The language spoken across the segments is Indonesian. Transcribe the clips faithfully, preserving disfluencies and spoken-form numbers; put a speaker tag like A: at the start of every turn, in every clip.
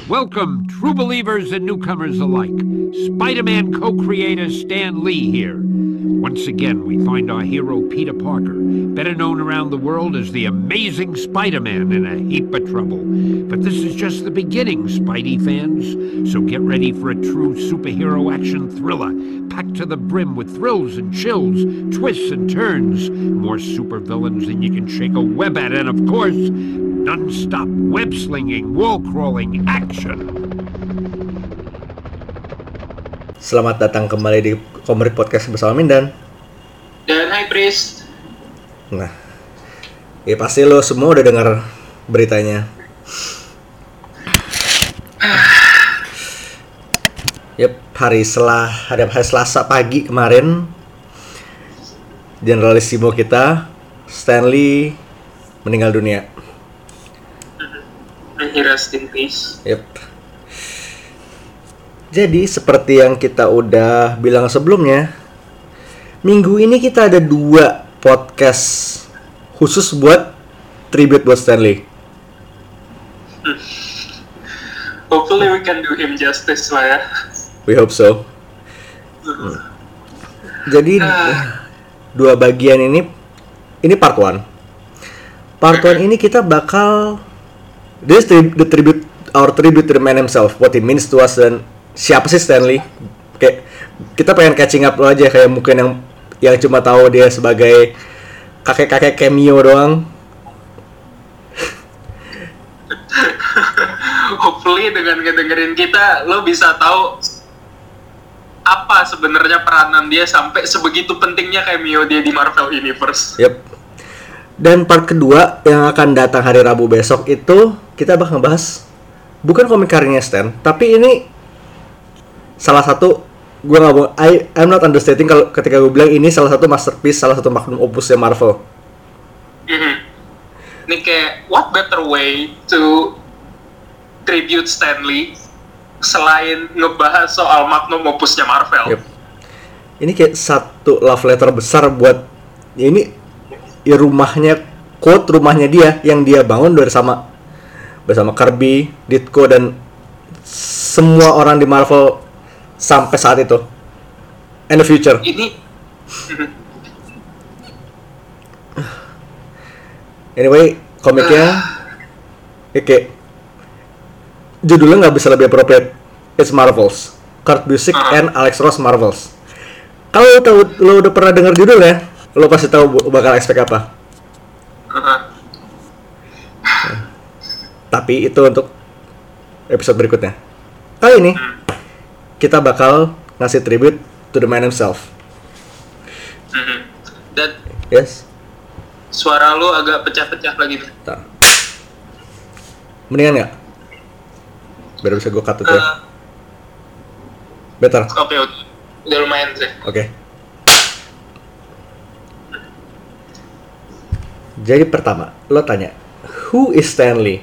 A: Welcome, true believers and newcomers alike. Spider-Man co-creator Stan Lee here. Once again, we find our hero Peter Parker, better known around the world as the Amazing Spider-Man, in a heap of trouble. But this is just the beginning, Spidey fans. So get ready for a true superhero action thriller, packed to the brim with thrills and chills, twists and turns, more supervillains than you can shake a web at, and of course, non-stop web-slinging, wall-crawling action.
B: Selamat datang kembali di Komrik Podcast bersama Mindan
C: dan High Priest.
B: Nah, ya pasti lo semua udah dengar beritanya. Yep, hari selah hari, hari Selasa pagi kemarin, Generalissimo kita Stan Lee meninggal dunia.
C: Rest in peace.
B: Yep. Jadi seperti yang kita udah bilang sebelumnya, minggu ini kita ada dua podcast khusus buat tribute buat Stan Lee.
C: Hmm. Hopefully we can do him justice lah ya.
B: We hope so. Hmm. Jadi uh. dua bagian ini, ini part one. Part one ini kita bakal this tri- the tribute our tribute to the man himself, what he means to us, dan siapa sih Stan Lee? Kayak kita pengen catching up lo aja, kayak mungkin yang yang cuma tahu dia sebagai kakek-kakek cameo doang.
C: Hopefully dengan ngedengerin kita lo bisa tahu apa sebenarnya peranan dia sampai sebegitu pentingnya cameo dia di Marvel Universe.
B: Yep. Dan part kedua yang akan datang hari Rabu besok itu kita bakal ngebahas bukan komik karyanya Stan, tapi ini salah satu, gue nggak mau, I I'm not understating kalau ketika gue bilang ini salah satu masterpiece, salah satu magnum opusnya Marvel.
C: Mm-hmm. Ini kayak what better way to tribute Stan Lee selain ngebahas soal magnum opusnya Marvel.
B: Yep. Ini kayak satu love letter besar buat ya ini ya rumahnya, quote rumahnya dia yang dia bangun bersama bersama Kirby, Ditko, dan semua orang di Marvel sampai saat itu and the future.
C: Ini
B: anyway, komiknya uh. oke, judulnya nggak bisa lebih appropriate. It's Marvels, Kurt Busiek uh. and Alex Ross Marvels. Kalau lo tahu, lo udah pernah dengar judulnya, lo pasti tahu bakal expect apa.
C: Uh.
B: Nah, tapi itu untuk episode berikutnya. Kali ini uh. kita bakal ngasih tribute to the man himself.
C: Mm-hmm. Dan
B: yes,
C: suara lu agak pecah-pecah lagi nih.
B: Bentar. Mendingan nggak? Biar bisa gue cut itu ya.
C: Uh,
B: Better.
C: Oke, okay, udah lumayan sih.
B: Oke. Okay. Jadi pertama, lo tanya, who is Stan Lee?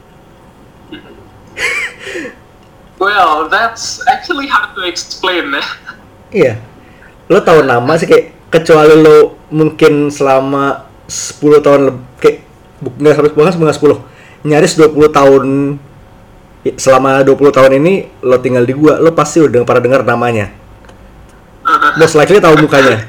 C: Well, that's actually hard to explain ya.
B: Iya. Lo tahu nama sih, kayak kecuali lo mungkin selama sepuluh tahun lebih, kayak nggak sampai bahkan nggak sepuluh, nyaris dua puluh tahun, selama dua puluh tahun ini lo tinggal di gua, lo pasti udah pernah dengar namanya. Most likely tahu mukanya.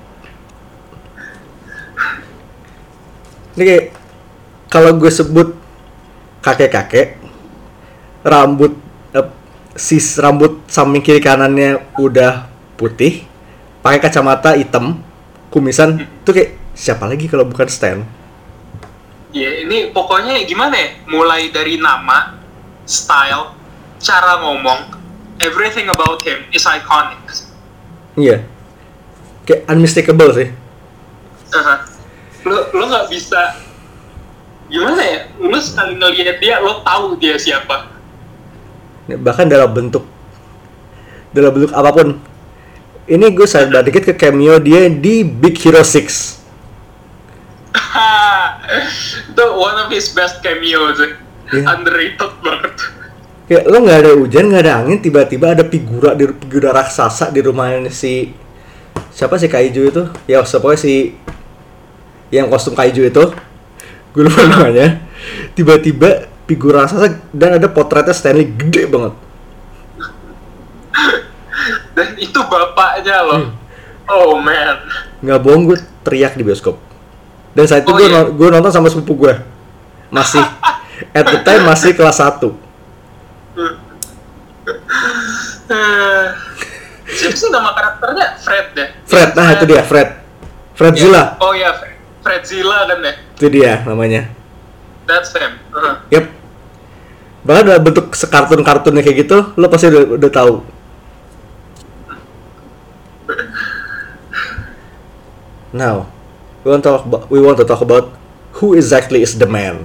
B: Ini kayak kalau gue sebut kakek-kakek, rambut eh, sis rambut samping kiri kanannya udah putih, pakai kacamata hitam, kumisan, tuh kayak siapa lagi kalau bukan Stan?
C: Ya, yeah, ini pokoknya gimana ya? Mulai dari nama, style, cara ngomong, everything about him is iconic.
B: Iya, kayak unmistakable sih.
C: Uh-huh. Lo lo nggak bisa, gimana ya? Lo sekali ngeliat dia, lo tahu dia siapa.
B: Bahkan dalam bentuk, dalam bentuk apapun. Ini gue sadar dikit ke cameo dia di Big Hero six.
C: Itu one of his best cameos, yeah. Underrated banget.
B: Kayak lo nggak ada hujan, nggak ada angin, tiba-tiba ada figura di figura raksasa di rumahnya si siapa sih Kaiju itu? Ya pokoknya si yang kostum Kaiju itu, gue lupa namanya. Tiba-tiba figur raksasa dan ada potretnya Stanley gede banget.
C: Dan itu bapaknya loh. Hmm. Oh man.
B: Nggak bohong, gue teriak di bioskop. Dan saat itu oh, gue iya. gue nonton sama sepupu gue. Masih at the time masih kelas satu.
C: Siapa sih nama karakternya? Fred deh.
B: Fred, nah Fred. Itu dia Fred. Fredzilla.
C: Yeah. Oh ya, Fred. Fredzilla kan ya?
B: Itu dia namanya.
C: That's him. Uh-huh.
B: Yep. Bahkan dalam bentuk sekartun-kartunnya kayak gitu, lo pasti udah, udah tahu. Now, we want to talk about, we want to talk about who exactly is the man.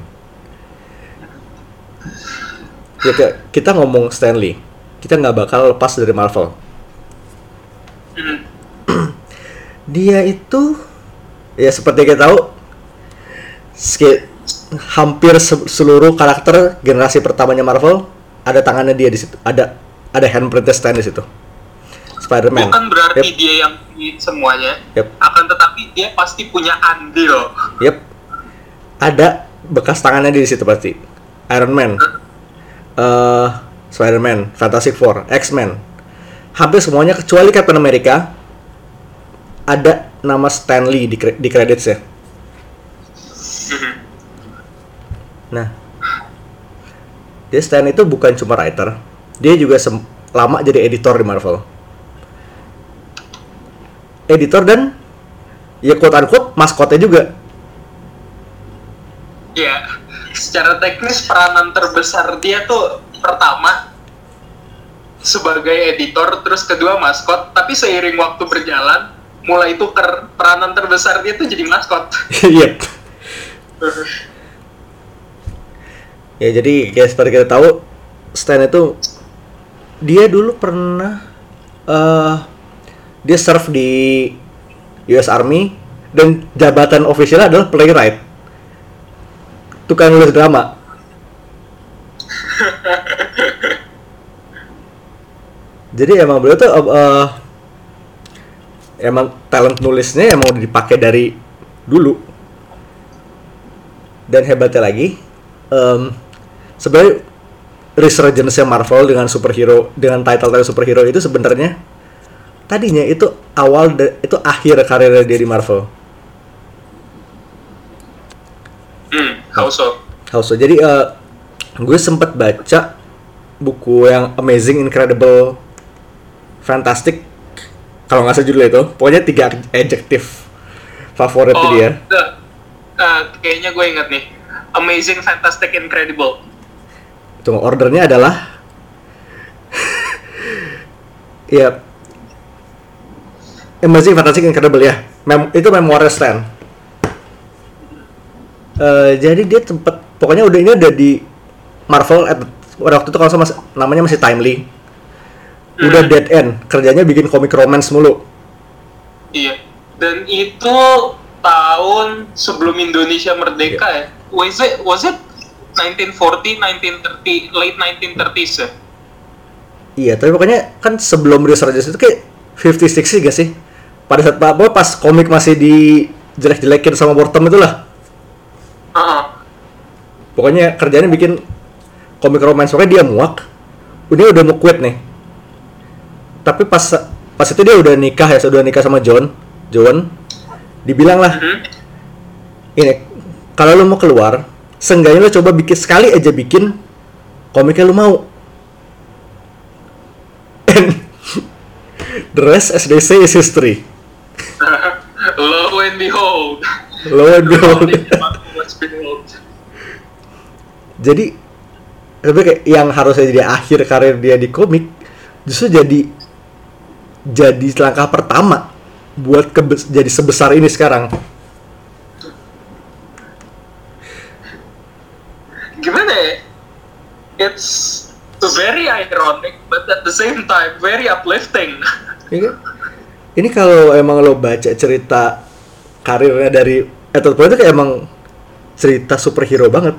B: Ya, kita ngomong Stanley, kita nggak bakal lepas dari Marvel. Dia itu, ya seperti kita tahu, sk- hampir se- seluruh karakter generasi pertamanya Marvel ada tangannya dia di situ, ada ada handprintnya Stan di situ. Spider-Man.
C: Bukan berarti
B: yep.
C: dia yang semuanya,
B: yep.
C: akan tetapi dia pasti punya andil.
B: Yep. Ada bekas tangannya di situ pasti. Iron Man, uh, Spider-Man, Fantastic Four, X-Men, hampir semuanya kecuali Captain America ada nama Stanley di di credits-nya. Nah, dia Stan itu bukan cuma writer, dia juga sem- lama jadi editor di Marvel. Editor dan ya quote-unquote maskotnya juga.
C: Iya, secara teknis peranan terbesar dia tuh pertama sebagai editor, terus kedua maskot, tapi seiring waktu berjalan mulai tuker, peranan terbesar dia tuh jadi maskot.
B: Iya. Ya jadi kayak seperti kita tahu, Stan itu dia dulu pernah uh, dia serve di U S Army dan jabatan officialnya adalah playwright, tukang nulis drama. Jadi emang beliau tuh uh, emang talent nulisnya emang udah dipakai dari dulu. Dan hebatnya lagi, um, sebenarnya resurgence-nya Marvel dengan superhero, dengan title-title superhero itu sebenarnya tadinya itu awal de, itu akhir karirnya dia di Marvel.
C: Hmm, how so?
B: How so? Jadi uh, gue sempet baca buku yang Amazing, Incredible, Fantastic, kalau nggak salah judulnya itu, pokoknya tiga adjektif favorit
C: oh,
B: dia.
C: The, uh, kayaknya gue inget nih, Amazing, Fantastic, Incredible.
B: Tunggu, ordernya adalah ya Amazing, Fantastic, Incredible ya. Mem- itu memoir Stan. Uh, jadi dia tempat, pokoknya udah ini udah di Marvel at, waktu itu kalau sama namanya masih Timely. Udah hmm. dead end, kerjanya bikin komik romance mulu.
C: Iya. Dan itu tahun sebelum Indonesia merdeka yeah. ya. Was it was it nineteen forty, nineteen thirty, late nineteen thirties ya?
B: Iya, tapi pokoknya kan sebelum Resurgence itu kayak fifties sixties gak sih? Pada saat apa pas komik masih dijelek-jelekin sama Wortham itulah.
C: Uh-huh.
B: Pokoknya kerjanya bikin komik romance, pokoknya dia muak. Dia udah mau quit nih. Tapi pas pas itu dia udah nikah ya, sudah nikah sama John. John dibilang lah, uh-huh. ini kalau lu mau keluar, seenggaknya lu coba bikin sekali aja bikin komiknya lu mau. And the rest, as they say, is history.
C: Lo and behold.
B: Lo and behold. Jadi, tapi kayak yang harusnya jadi akhir karir dia di komik, justru jadi jadi langkah pertama buat kebes- jadi sebesar ini sekarang.
C: Gimana ya? It's very ironic, but at the same time very uplifting.
B: Ini, ini kalau emang lo baca cerita karirnya dari Edward Poe itu kayak emang cerita superhero banget.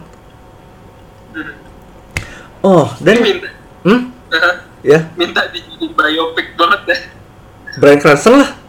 B: Oh, dan
C: minta,
B: hmm?
C: uh,
B: ya,
C: minta dijadiin biopic banget deh.
B: Bryan Cranston lah.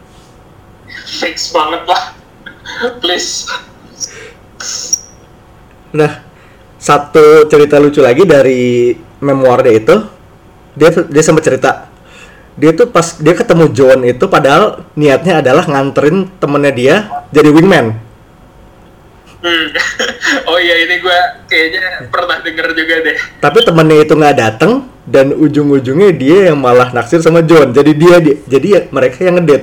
C: Fix banget lah. Please.
B: Nah, satu cerita lucu lagi dari memoir dia itu, dia dia sempat cerita dia tuh pas dia ketemu John itu padahal niatnya adalah nganterin temennya dia jadi wingman.
C: Hmm. Oh iya, ini gue kayaknya pernah denger juga deh.
B: Tapi temennya itu nggak datang dan ujung-ujungnya dia yang malah naksir sama John. Jadi dia, dia jadi ya, mereka yang ngedate.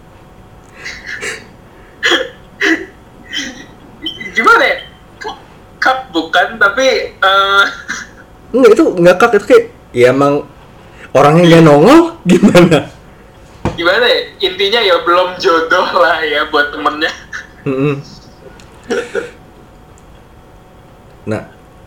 C: Gimana ya? Cup bukan, tapi uh...
B: enggak, itu nggak kak, itu kayak ya emang orangnya nggak nongol gimana?
C: Gimana ya? Intinya ya belum jodoh lah ya buat temennya.
B: Mm-mm. Nah,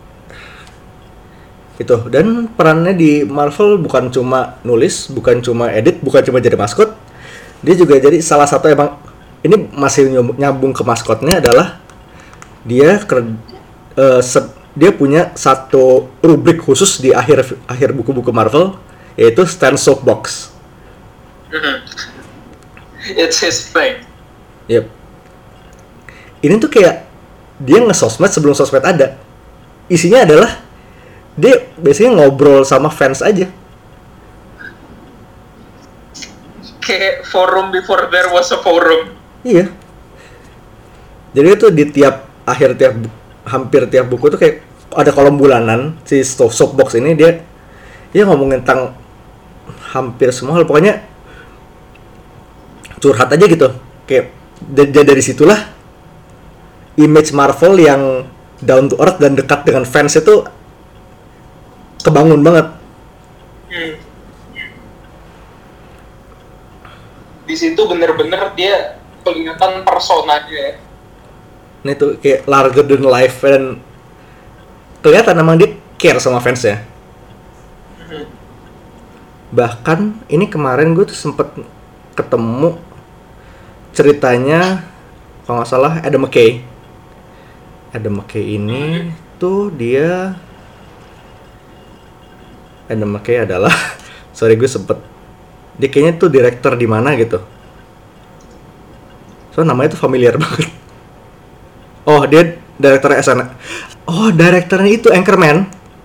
B: itu dan perannya di Marvel bukan cuma nulis, bukan cuma edit, bukan cuma jadi maskot. Dia juga jadi salah satu emang ini masih nyambung ke maskotnya adalah dia ker, uh, se- dia punya satu rubrik khusus di akhir akhir buku-buku Marvel yaitu Stan Soapbox.
C: It's his thing.
B: Yep. Ini tuh kayak dia nge-sosmed sebelum sosmed ada. Isinya adalah dia biasanya ngobrol sama fans aja.
C: Kayak forum before there was a forum.
B: Iya. Jadi itu di tiap akhir tiap hampir tiap buku tuh kayak ada kolom bulanan si Soapbox ini dia dia ngomongin tentang hampir semua hal, pokoknya curhat aja gitu. Kayak dari, dari situlah image Marvel yang down to earth dan dekat dengan fans itu kebangun banget.
C: Hmm. Di situ bener-bener dia kelihatan personanya.
B: Nah itu kayak larger than life dan kelihatan emang dia care sama fansnya.
C: Hmm.
B: Bahkan ini kemarin gue tuh sempet ketemu ceritanya kalau nggak salah Adam McKay. Adam McKay ini tuh dia Adam McKay adalah sorry gue sempet dia kayaknya tuh director di mana gitu. So namanya tuh familiar banget. Oh dia director S N L. Oh directornya itu Anchorman.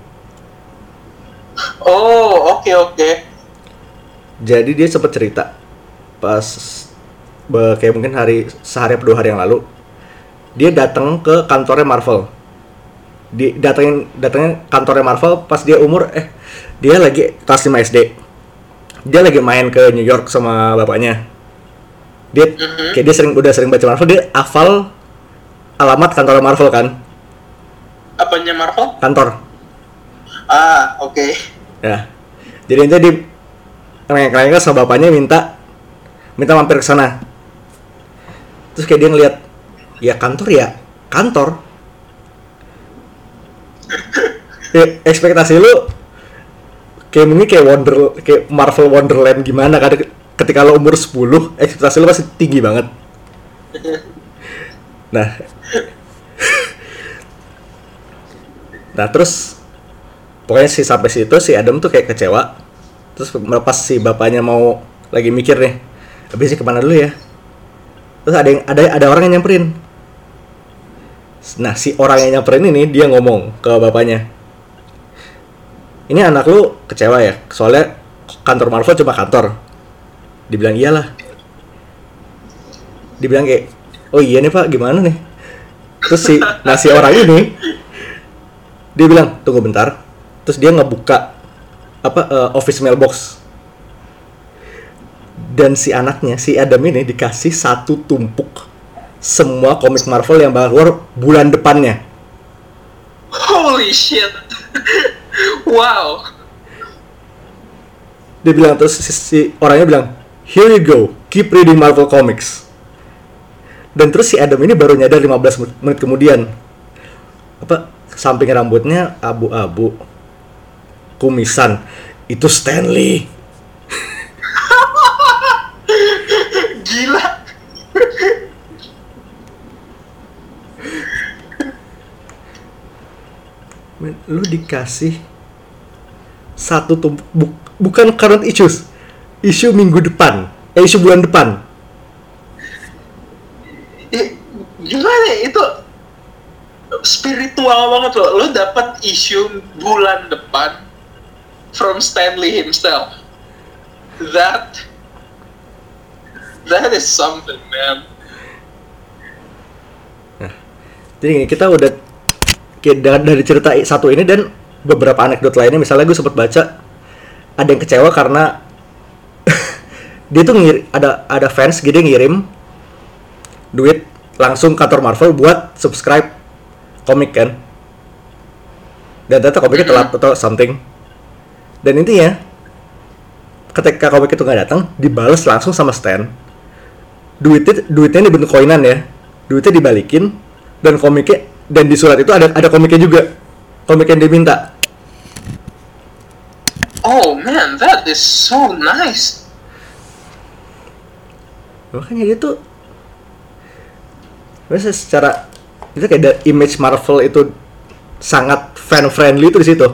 C: Oh oke okay, oke. Okay.
B: Jadi dia sempet cerita pas be, kayak mungkin hari sehari atau dua hari yang lalu dia datang ke kantornya Marvel. Di datangin datangin kantornya Marvel pas dia umur eh dia lagi kelas lima S D. Dia lagi main ke New York sama bapaknya. Dia mm-hmm. kayak dia sering udah sering baca Marvel, dia hafal alamat kantor Marvel kan.
C: Apanya Marvel?
B: Kantor.
C: Ah, oke. Okay.
B: Ya. Jadi nanti di rengek-rengek sama bapaknya minta minta mampir ke sana. Terus kayak dia ngeliat ya kantor ya kantor. Ya, ekspektasi lu kayak mungkin kayak Wonder kayak Marvel Wonderland gimana kan ketika lo umur sepuluh ekspektasi lu pasti tinggi banget. Nah. Nah, terus pokoknya sih sampai situ si Adam tuh kayak kecewa. Terus pas si bapaknya mau lagi mikir nih, habisnya kemana dulu ya? Terus ada yang ada ada orang yang nyamperin. Nah, si orang yang nyamperin ini dia ngomong ke bapaknya. Ini anak lu kecewa ya? Soalnya kantor Marvel cuma kantor. Dibilang iyalah. Dibilang kayak, "Oh iya nih, Pak, gimana nih?" Terus si nah si orang ini dia bilang, "Tunggu bentar." Terus dia ngebuka apa uh, office mailbox. Dan si anaknya, si Adam ini dikasih satu tumpuk semua komik Marvel yang bakal keluar bulan depannya.
C: Holy shit. Wow.
B: Dia bilang terus si, si orangnya bilang, "Here you go, keep reading Marvel Comics." Dan terus si Adam ini baru nyadar lima belas menit kemudian. Apa samping rambutnya abu-abu. Kumisan. Itu Stan Lee.
C: Gila.
B: Men, lu dikasih satu tumpuk bu- bukan current issues, isu minggu depan, eh isu bulan depan.
C: Eh, gimana itu spiritual banget loh. Lo dapat issue bulan depan from Stan Lee himself. That that is something, man.
B: Nah, jadi kita udah dari cerita satu ini dan beberapa anekdot lainnya. Misalnya gue sempat baca ada yang kecewa karena dia tuh ngir, ada ada fans gitu ngirim duit langsung kantor Marvel buat subscribe komik kan, dan ternyata komiknya telat atau something. Dan intinya ketika komik itu nggak datang, dibalas langsung sama Stan. Duitnya duitnya dibentuk koinan ya, duitnya dibalikin dan komiknya, dan di surat itu ada ada komiknya juga, komik yang diminta.
C: Oh man, that is so nice.
B: Makanya dia tuh biasa secara itu kayak ada image Marvel itu sangat fan friendly itu di situ.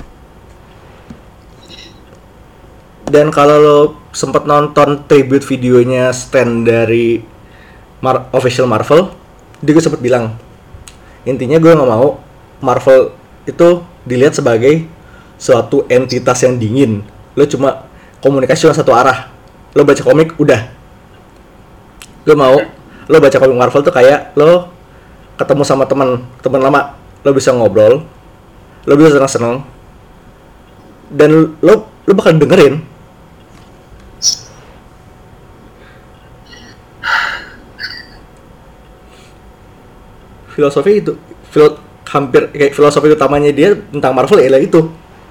B: Dan kalau lo sempat nonton tribute videonya Stan dari Mar- official Marvel, dia gue sempat bilang intinya gue nggak mau Marvel itu dilihat sebagai suatu entitas yang dingin. Lo cuma komunikasi cuma satu arah. Lo baca komik udah. Lo mau lo baca komik Marvel tuh kayak lo ketemu sama teman teman lama, lo bisa ngobrol, lo bisa senang-senang, dan lo lo bakal dengerin. Filosofi itu, filo, hampir kayak filosofi utamanya dia tentang Marvel ialah itu.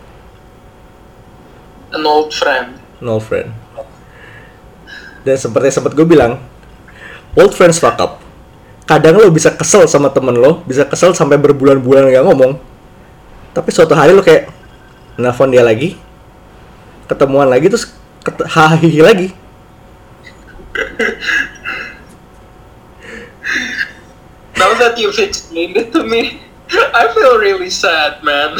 C: An old friend.
B: An old friend. Dan seperti sempat gue bilang, old friends fuck up. Kadang lo bisa kesel sama temen lo, bisa kesel sampai berbulan-bulan gak ngomong. Tapi suatu hari lo kayak nelfon dia lagi, ketemuan lagi, terus ket- hahihi lagi.
C: Now that you've explained it to me, I feel really sad, man.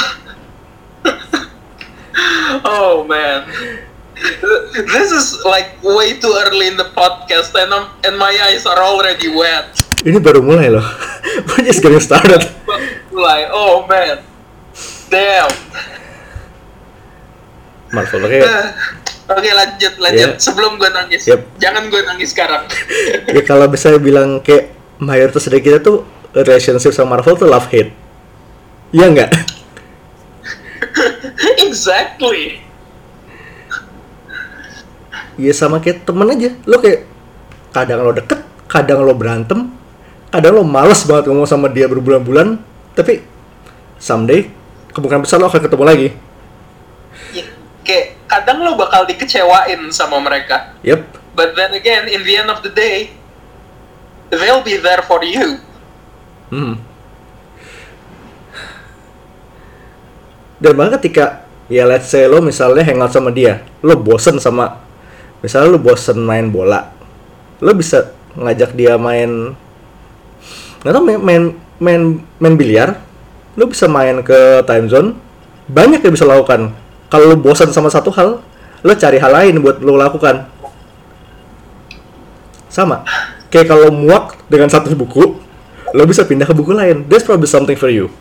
C: Oh man, this is like way too early in the podcast, and I'm, and my eyes are already wet.
B: Ini baru mulai loh. We're just getting started.
C: Mulai, oh man, damn.
B: Marvel, oke. Okay.
C: Oke, lanjut, lanjut.
B: Yeah.
C: Sebelum gue nangis,
B: Yep.
C: jangan gue nangis sekarang.
B: Ya kalau bisa bilang kayak mayoritas dari kita tuh relationship sama Marvel tuh love hate. Iya nggak?
C: Exactly.
B: Iya sama kayak temen aja. Lo kayak kadang lo deket, kadang lo berantem, kadang lo males banget ngomong sama dia berbulan-bulan, tapi someday kemungkinan besar lo akan ketemu lagi.
C: Ya, kayak kadang lo bakal dikecewain sama mereka.
B: Yep.
C: But then again, in the end of the day, they'll be there for you.
B: Hmm. Dan bahkan ketika ya let's say lo misalnya hangout sama dia, lo bosen sama, misalnya lo bosen main bola, lo bisa ngajak dia main, nggak tau main main main, main biliar, lo bisa main ke time zone, banyak yang bisa lakukan. Kalau lo bosan sama satu hal, lo cari hal lain buat lo lakukan. Sama kayak kalau muak dengan satu buku, lo bisa pindah ke buku lain. There's probably something for you.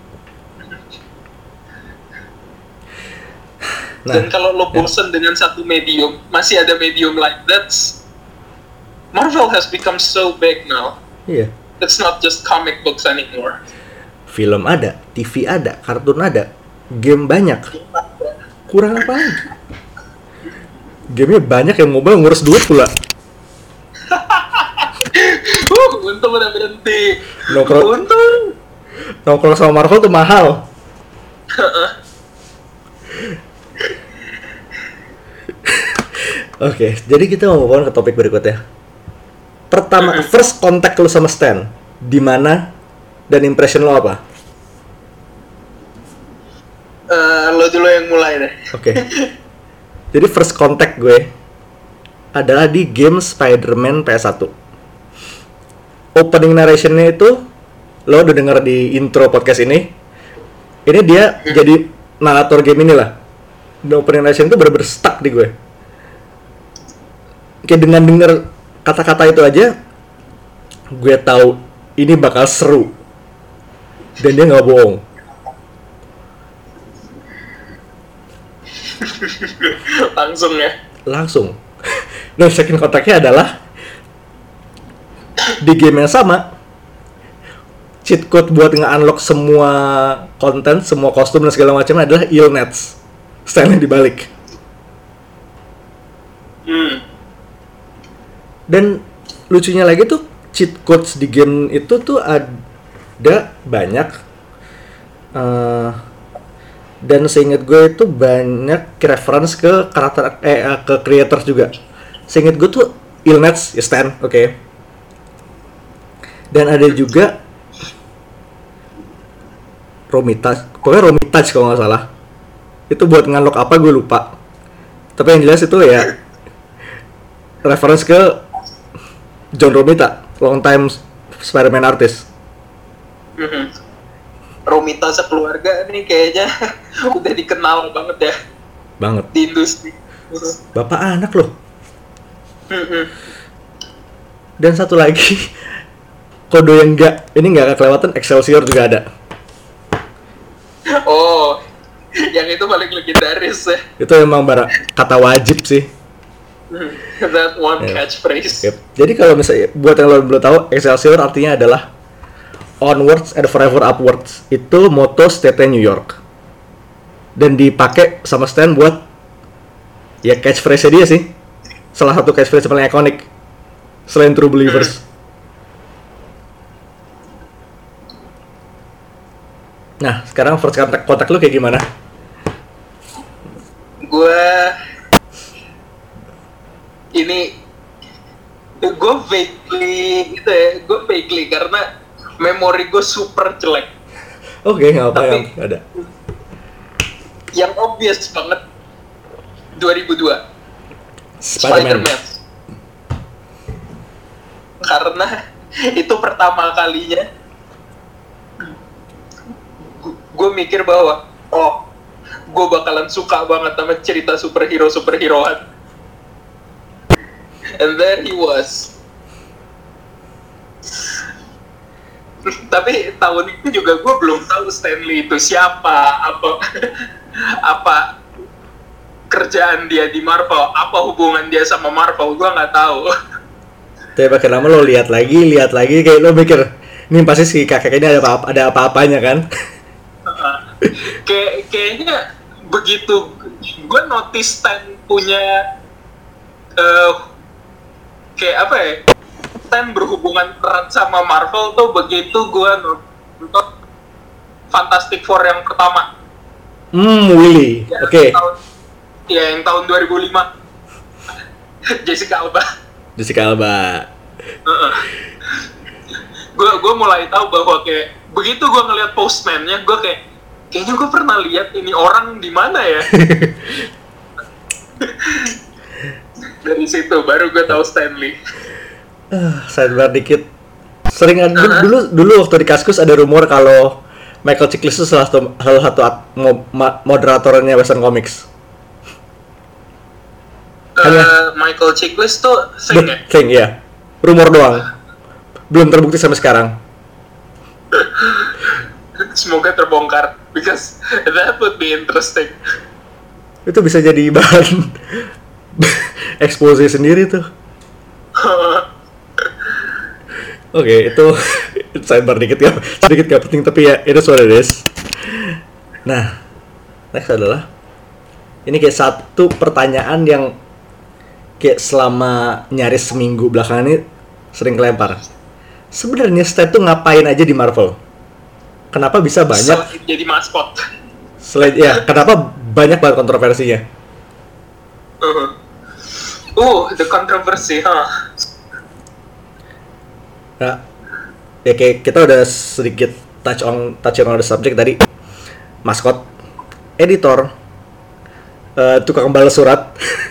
C: Nah, dan kalau lo bosen ya. dengan satu medium, masih ada medium lain. That's Marvel has become so big now.
B: Iya.
C: It's not just comic books anymore.
B: Film ada, T V ada, kartun ada, game banyak. Kurang apa lagi? Gamenya banyak, yang mobile ngurus duit pula.
C: uh, untung udah berhenti.
B: Nongkrong,
C: untung.
B: Nongkrong sama Marvel tuh mahal. Oke, okay, jadi kita mau ngomong ke topik berikutnya. Pertama, mm-hmm. first contact lo sama Stan, di mana dan impression lo apa?
C: Uh, lo dulu yang mulai deh.
B: Oke. Okay. Jadi first contact gue adalah di game Spider-Man P S one. Opening narration-nya itu lo udah denger di intro podcast ini. Ini dia mm-hmm. jadi narator game inilah. Dan opening narration itu bener-bener stuck di gue. Kayak dengan denger kata-kata itu aja, gue tahu ini bakal seru. dan dia nggak bohong.
C: Langsung ya.
B: Langsung. Nah, second kontaknya adalah di game yang sama, cheat code buat nge-unlock semua konten, semua kostum dan segala macam adalah Illnets. Style-nya dibalik.
C: Hmm.
B: Dan lucunya lagi tuh cheat codes di game itu tuh ada banyak. Uh, dan seingat gue itu banyak reference ke karakter eh ke creators juga. Seingat gue tuh Illnets, ya Stan, oke. Okay. Dan ada juga Romita, pokoknya Romita kalau nggak salah. Itu buat nge-unlock apa gue lupa. Tapi yang jelas itu ya reference ke John Romita, long time Spider-Man artist.
C: Mm-hmm. Romita sekeluarga nih kayaknya udah dikenal banget ya.
B: Banget.
C: Di industri.
B: Bapak anak loh.
C: Mm-hmm.
B: Dan satu lagi kode yang enggak, ini enggak kelewatan, Excelsior juga ada.
C: Oh, yang itu paling legendaris ya.
B: Itu emang bara kata wajib sih.
C: That one
B: Yeah.
C: catchphrase.
B: Yep. Jadi kalau misalnya buat yang lo belum tahu, Excelsior artinya adalah onwards and forever upwards. Itu moto state New York. Dan dipakai sama Stan buat ya catchphrase dia sih. Salah satu catchphrase paling ikonik selain True Believers. Hmm. Nah, sekarang first contact, kontak lu kayak gimana?
C: Gue ini gue vaguely gitu ya, gue vaguely karena memori gue super jelek.
B: Oke, okay, nggak apa yang ada.
C: Yang obvious banget dua ribu dua
B: Spider-Man.
C: Spider-Man. Karena itu pertama kalinya gue mikir bahwa oh, gue bakalan suka banget sama cerita superhero superheroan. And there he was. Tapi tahun itu juga gue belum tahu Stan Lee itu siapa, apa apa kerjaan dia di Marvel, apa hubungan dia sama Marvel, gue nggak tahu.
B: Tapi makin lama lo lihat lagi, lihat lagi, kayak lo mikir, ini pasti si kakek ini ada apa ada apa-apanya kan?
C: Kayak kayaknya begitu gue notice Stan punya uh, kayak apa ya, Stan berhubungan erat sama Marvel tuh begitu gue nonton Fantastic Four yang pertama.
B: Hmm, Willy,
C: Ya,
B: oke. Okay.
C: Ya, yang tahun dua ribu lima. Jessica Alba.
B: Jessica Alba.
C: Gue gue mulai tahu bahwa kayak begitu gue ngeliat Postman-nya, gue kayak kayaknya gue pernah lihat ini orang di mana ya. Dari situ baru gue tahu Stan Lee.
B: Uh, sidebar dikit. Sering ada uh-huh. dulu dulu waktu di Kaskus ada rumor kalau Michael Chiklis itu salah satu salah satu at, mo, ma, moderatornya Western Comics.
C: Uh, Michael Chiklis tuh thing ya?
B: Thing, ya. Rumor doang. Belum terbukti sampai sekarang.
C: Semoga terbongkar, because that would be interesting.
B: Itu bisa jadi bahan expose sendiri tuh. Oke, okay, itu sidebar dikit ya, sedikit gak penting tapi ya itu what it is. Nah, next adalah ini kayak satu pertanyaan yang kayak selama nyaris seminggu belakangan ini sering kelempar. Sebenarnya Stan tuh ngapain aja di Marvel? Kenapa bisa banyak?
C: Selain jadi maskot.
B: Selain ya, kenapa banyak banget kontroversinya?
C: Uh, uh the controversy, huh?
B: Nah, ya kayak kita udah sedikit touch on touch on the subject tadi. Maskot, editor, uh, tukang balas surat,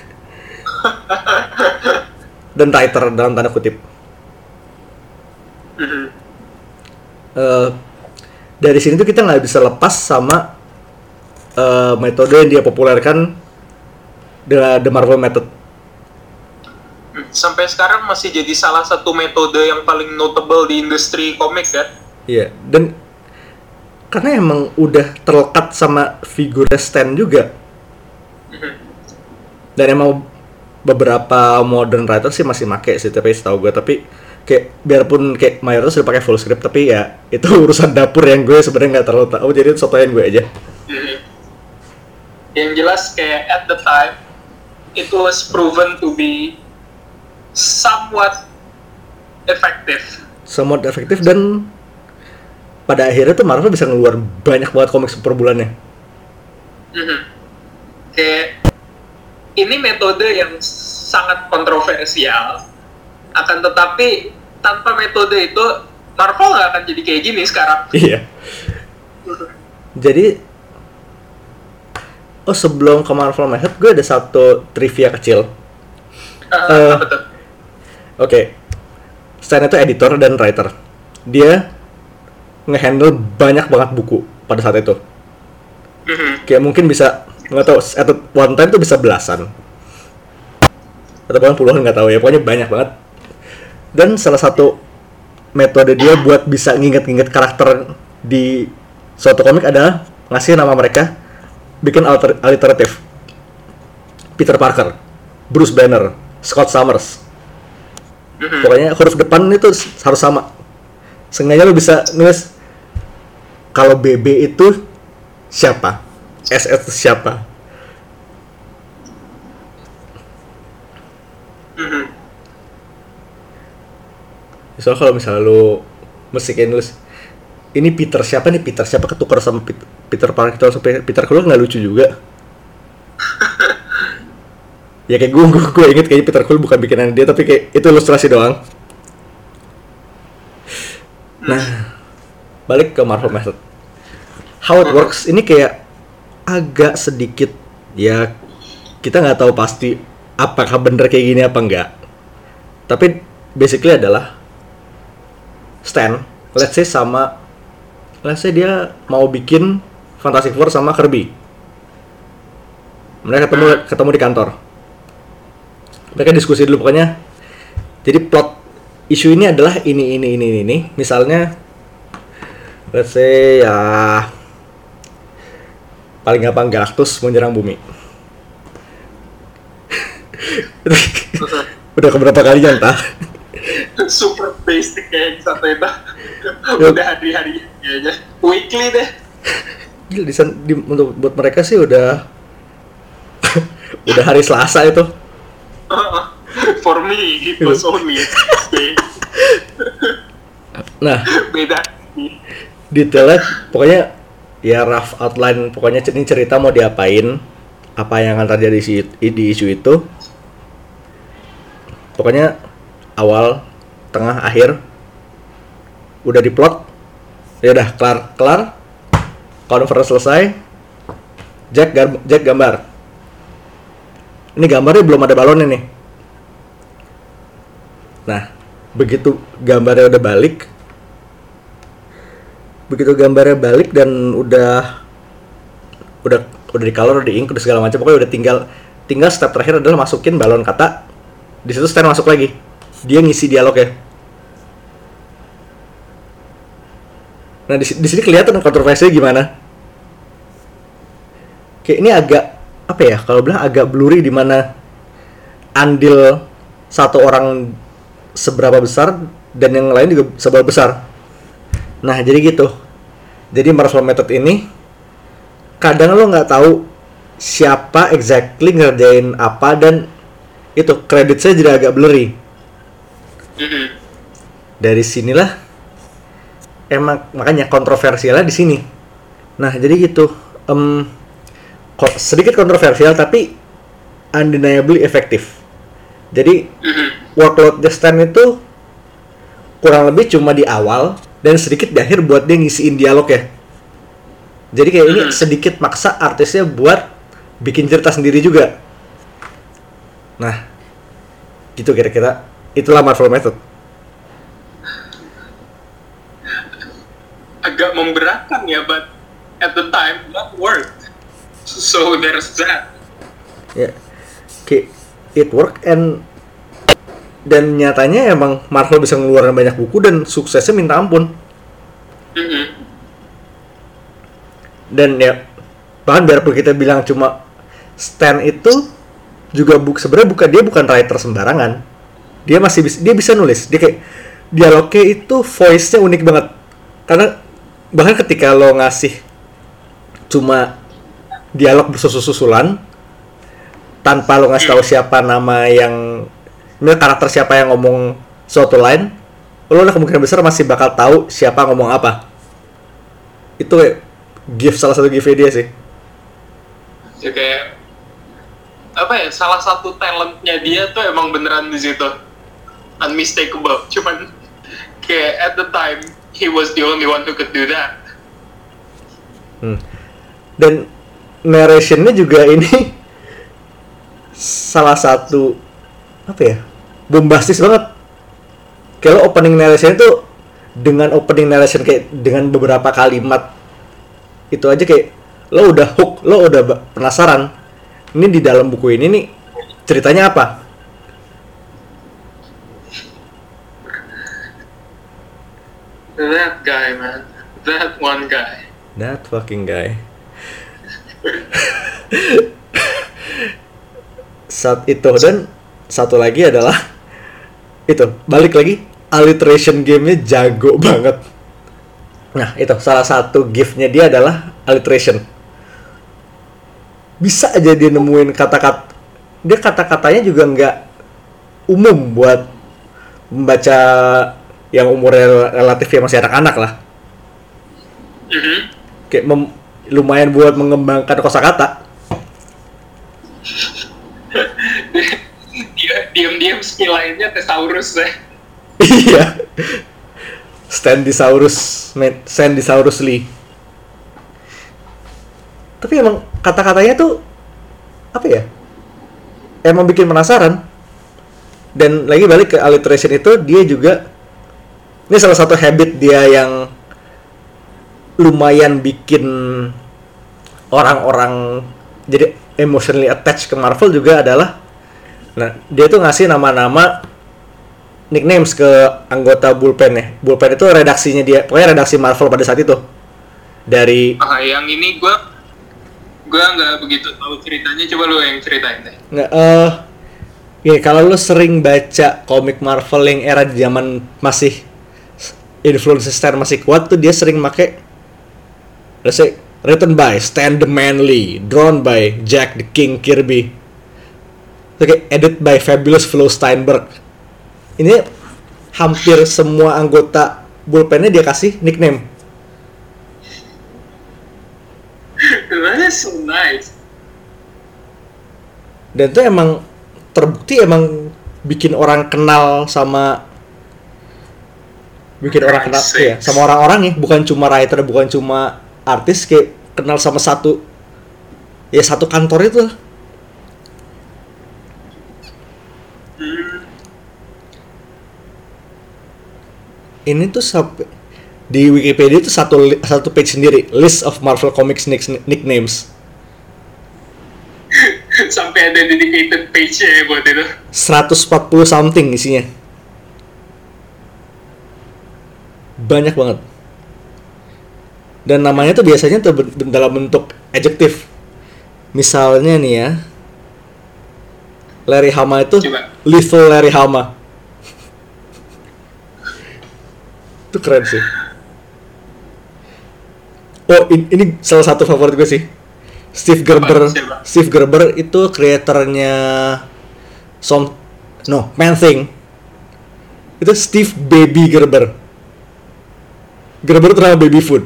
B: dan writer dalam tanda kutip.
C: Mm-hmm.
B: Uh, dari sini tuh kita nggak bisa lepas sama uh, metode yang dia populerkan, the, the Marvel Method.
C: Sampai sekarang masih jadi salah satu metode yang paling notable di industri komik kan?
B: Iya, dan karena emang udah terlekat sama figur Stan juga. Dan emang beberapa modern writer sih masih make sih, tapi setahu gue, tapi kayak biarpun kayak mayoritas udah pakai full script, tapi ya itu urusan dapur yang gue sebenarnya nggak terlalu tahu, jadi itu sotoyan gue aja.
C: Hmm. Yang jelas kayak at the time it was proven to be somewhat effective.
B: Somewhat efektif, dan pada akhirnya tuh Marvel bisa ngeluar banyak banget komik per bulannya.
C: Mm-hmm. Kayak ini metode yang sangat kontroversial, akan tetapi tanpa metode itu Marvel nggak akan jadi kayak gini sekarang.
B: Iya. Jadi, oh sebelum ke Marvel Method, gue ada satu trivia kecil.
C: Uh,
B: uh,
C: apa tuh?
B: Oke, okay. Stan itu editor dan writer. Dia nge-handle banyak banget buku pada saat itu.
C: Mm-hmm.
B: Kayak mungkin bisa, nggak tahu, at one time tuh bisa belasan atau bahkan puluhan, nggak tahu ya, pokoknya banyak banget. Dan salah satu metode dia buat bisa nginget-nginget karakter di suatu komik adalah ngasih nama mereka, bikin alter, alliteratif. Peter Parker, Bruce Banner, Scott Summers. Mm-hmm. Pokoknya huruf depan itu harus sama. Sengaja lo bisa nulis kalau B B itu siapa, S S itu siapa.
C: Mm-hmm.
B: Soalnya kalau misalnya lo mesti kayak nulis ini Peter siapa nih, Peter siapa ketukar sama Peter, Peter Parker atau Peter Quill, nggak lucu juga. Ya kayak gue, gue, gue inget kayaknya Peter Quill bukan bikinan dia, tapi kayak itu ilustrasi doang. Nah, balik ke Marvel Method. How it works ini kayak agak sedikit, ya kita nggak tahu pasti apakah bener kayak gini apa enggak. Tapi basically adalah Stan, let's say sama, let's say dia mau bikin Fantastic Four sama Kirby. Mereka ketemu ketemu di kantor. Mereka diskusi dulu pokoknya. Jadi plot isu ini adalah ini ini ini ini. Misalnya, let's say ya paling gampang Galactus menyerang bumi. Udah keberapa kalinya entah.
C: Super basic kayak satu itu. Udah hari-hari kayaknya. Weekly deh.
B: Gila, di, di, untuk buat mereka sih udah udah hari Selasa itu.
C: For me, it was only Tuesday.
B: Nah,
C: beda.
B: Detailnya pokoknya ya rough outline, pokoknya ini cerita mau diapain, apa yang akan terjadi di, di isu itu. Pokoknya awal, tengah, akhir udah diplot. Ya udah kelar, kelar. Conference selesai. Jack gar, Jack gambar. Ini gambarnya belum ada balonnya nih. Nah, begitu gambarnya udah balik, begitu gambarnya balik dan udah udah udah di color, di ink, udah segala macam, pokoknya udah tinggal tinggal step terakhir adalah masukin balon kata. Di situ Stan masuk lagi. Dia ngisi dialog ya. Nah, di, di sini kelihatan kontroversinya gimana. Kayak ini agak apa ya, kalau bilang agak blurry di mana andil satu orang seberapa besar dan yang lain juga seberapa besar. Nah, jadi gitu. Jadi Marvel Method ini kadang lo nggak tahu siapa exactly ngerjain apa, dan itu kreditnya jadi agak blurry.
C: Mm-hmm.
B: Dari sinilah emang makanya kontroversialnya di sini. Nah, jadi gitu. Um, ko- sedikit kontroversial tapi undeniably efektif. Jadi
C: Mm-hmm.
B: workload The Stan itu kurang lebih cuma di awal dan sedikit di akhir buat dia ngisiin dialog ya. Jadi kayak ini sedikit maksa artisnya buat bikin cerita sendiri juga. Nah, gitu kira-kira. Itulah Marvel Method.
C: Agak memberatkan ya, but at the time that worked. So there's that.
B: Ya, kayak it work and dan nyatanya emang Marvel bisa ngeluarin banyak buku dan suksesnya minta ampun.
C: Mm-hmm.
B: Dan ya bahkan biarpun kita bilang cuma Stan itu juga buk sebenarnya bukan dia bukan writer sembarangan. Dia masih bisa dia bisa nulis. Dia kayak dialognya itu voice-nya unik banget. Karena bahkan ketika lo ngasih cuma dialog bersusul-susulan tanpa lo ngasih tahu siapa nama yang karakter siapa yang ngomong suatu line, lo udah kemungkinan besar masih bakal tahu siapa ngomong apa. Itu kayak gift salah satu gift dia sih.
C: Ya kayak apa ya, salah satu talentnya dia tuh emang beneran di situ unmistakable. Cuman kayak at the time he was the only one who could do that.
B: Hmm. Dan narrationnya juga ini salah satu apa ya, bombastis banget. Kalau opening narration itu dengan opening narration kayak dengan beberapa kalimat itu aja kayak lo udah hook, lo udah penasaran. Ini di dalam buku ini nih ceritanya apa?
C: That guy, man. That one guy.
B: That fucking guy. Saat itu, dan satu lagi adalah itu, balik lagi, alliteration game-nya jago banget. Nah, itu salah satu gift-nya dia adalah alliteration. Bisa aja dia nemuin kata-kata, dia kata-katanya juga nggak umum buat membaca yang umurnya relatif ya masih anak-anak lah.
C: Mm-hmm.
B: Kayak mem- lumayan buat mengembangkan kosakata.
C: Dia diam-diam skill lainnya thesaurus ya.
B: Iya. Standisaurus, Standisaurus Lee. Tapi emang kata-katanya tuh apa ya? Emang bikin penasaran. Dan lagi balik ke alliteration itu, dia juga ini salah satu habit dia yang lumayan bikin orang-orang jadi emotionally attached ke Marvel juga adalah, nah dia tuh ngasih nama-nama nicknames ke anggota bullpen ya. Bullpen itu redaksinya dia, pokoknya redaksi Marvel pada saat itu. Dari
C: ah, yang ini gue gue nggak begitu tahu ceritanya, coba lu yang ceritain deh.
B: nggak eh uh, ya kalau lu sering baca komik Marvel yang era zaman masih influence Stan masih kuat tuh, dia sering make let's say written by Stan the Man Lee, drawn by Jack the King Kirby, oke, okay, edit by Fabulous Flo Steinberg. Ini hampir semua anggota bullpennya dia kasih nickname.
C: That is so nice.
B: Dan itu emang terbukti emang bikin orang kenal sama bikin orang kenal ya, sama orang-orang ya, bukan cuma writer, bukan cuma artis, kayak kenal sama satu ya satu kantor itu.
C: Hmm.
B: Ini tuh sampai di Wikipedia itu satu satu page sendiri, list of Marvel Comics nicknames.
C: Sampai ada dedicated page-nya ya buat itu.
B: seratus empat puluh something isinya. Banyak banget. Dan namanya tuh biasanya tuh dalam bentuk adjektif. Misalnya nih ya, Larry Hama itu
C: Coba.
B: Lethal Larry Hama. Itu keren sih. Oh, ini, ini salah satu favorit gue sih. Steve Gerber.
C: Siapa?
B: Steve Gerber itu kreatornya Som No, Man Thing. Itu Steve Baby Gerber. Gerber itu nama baby food.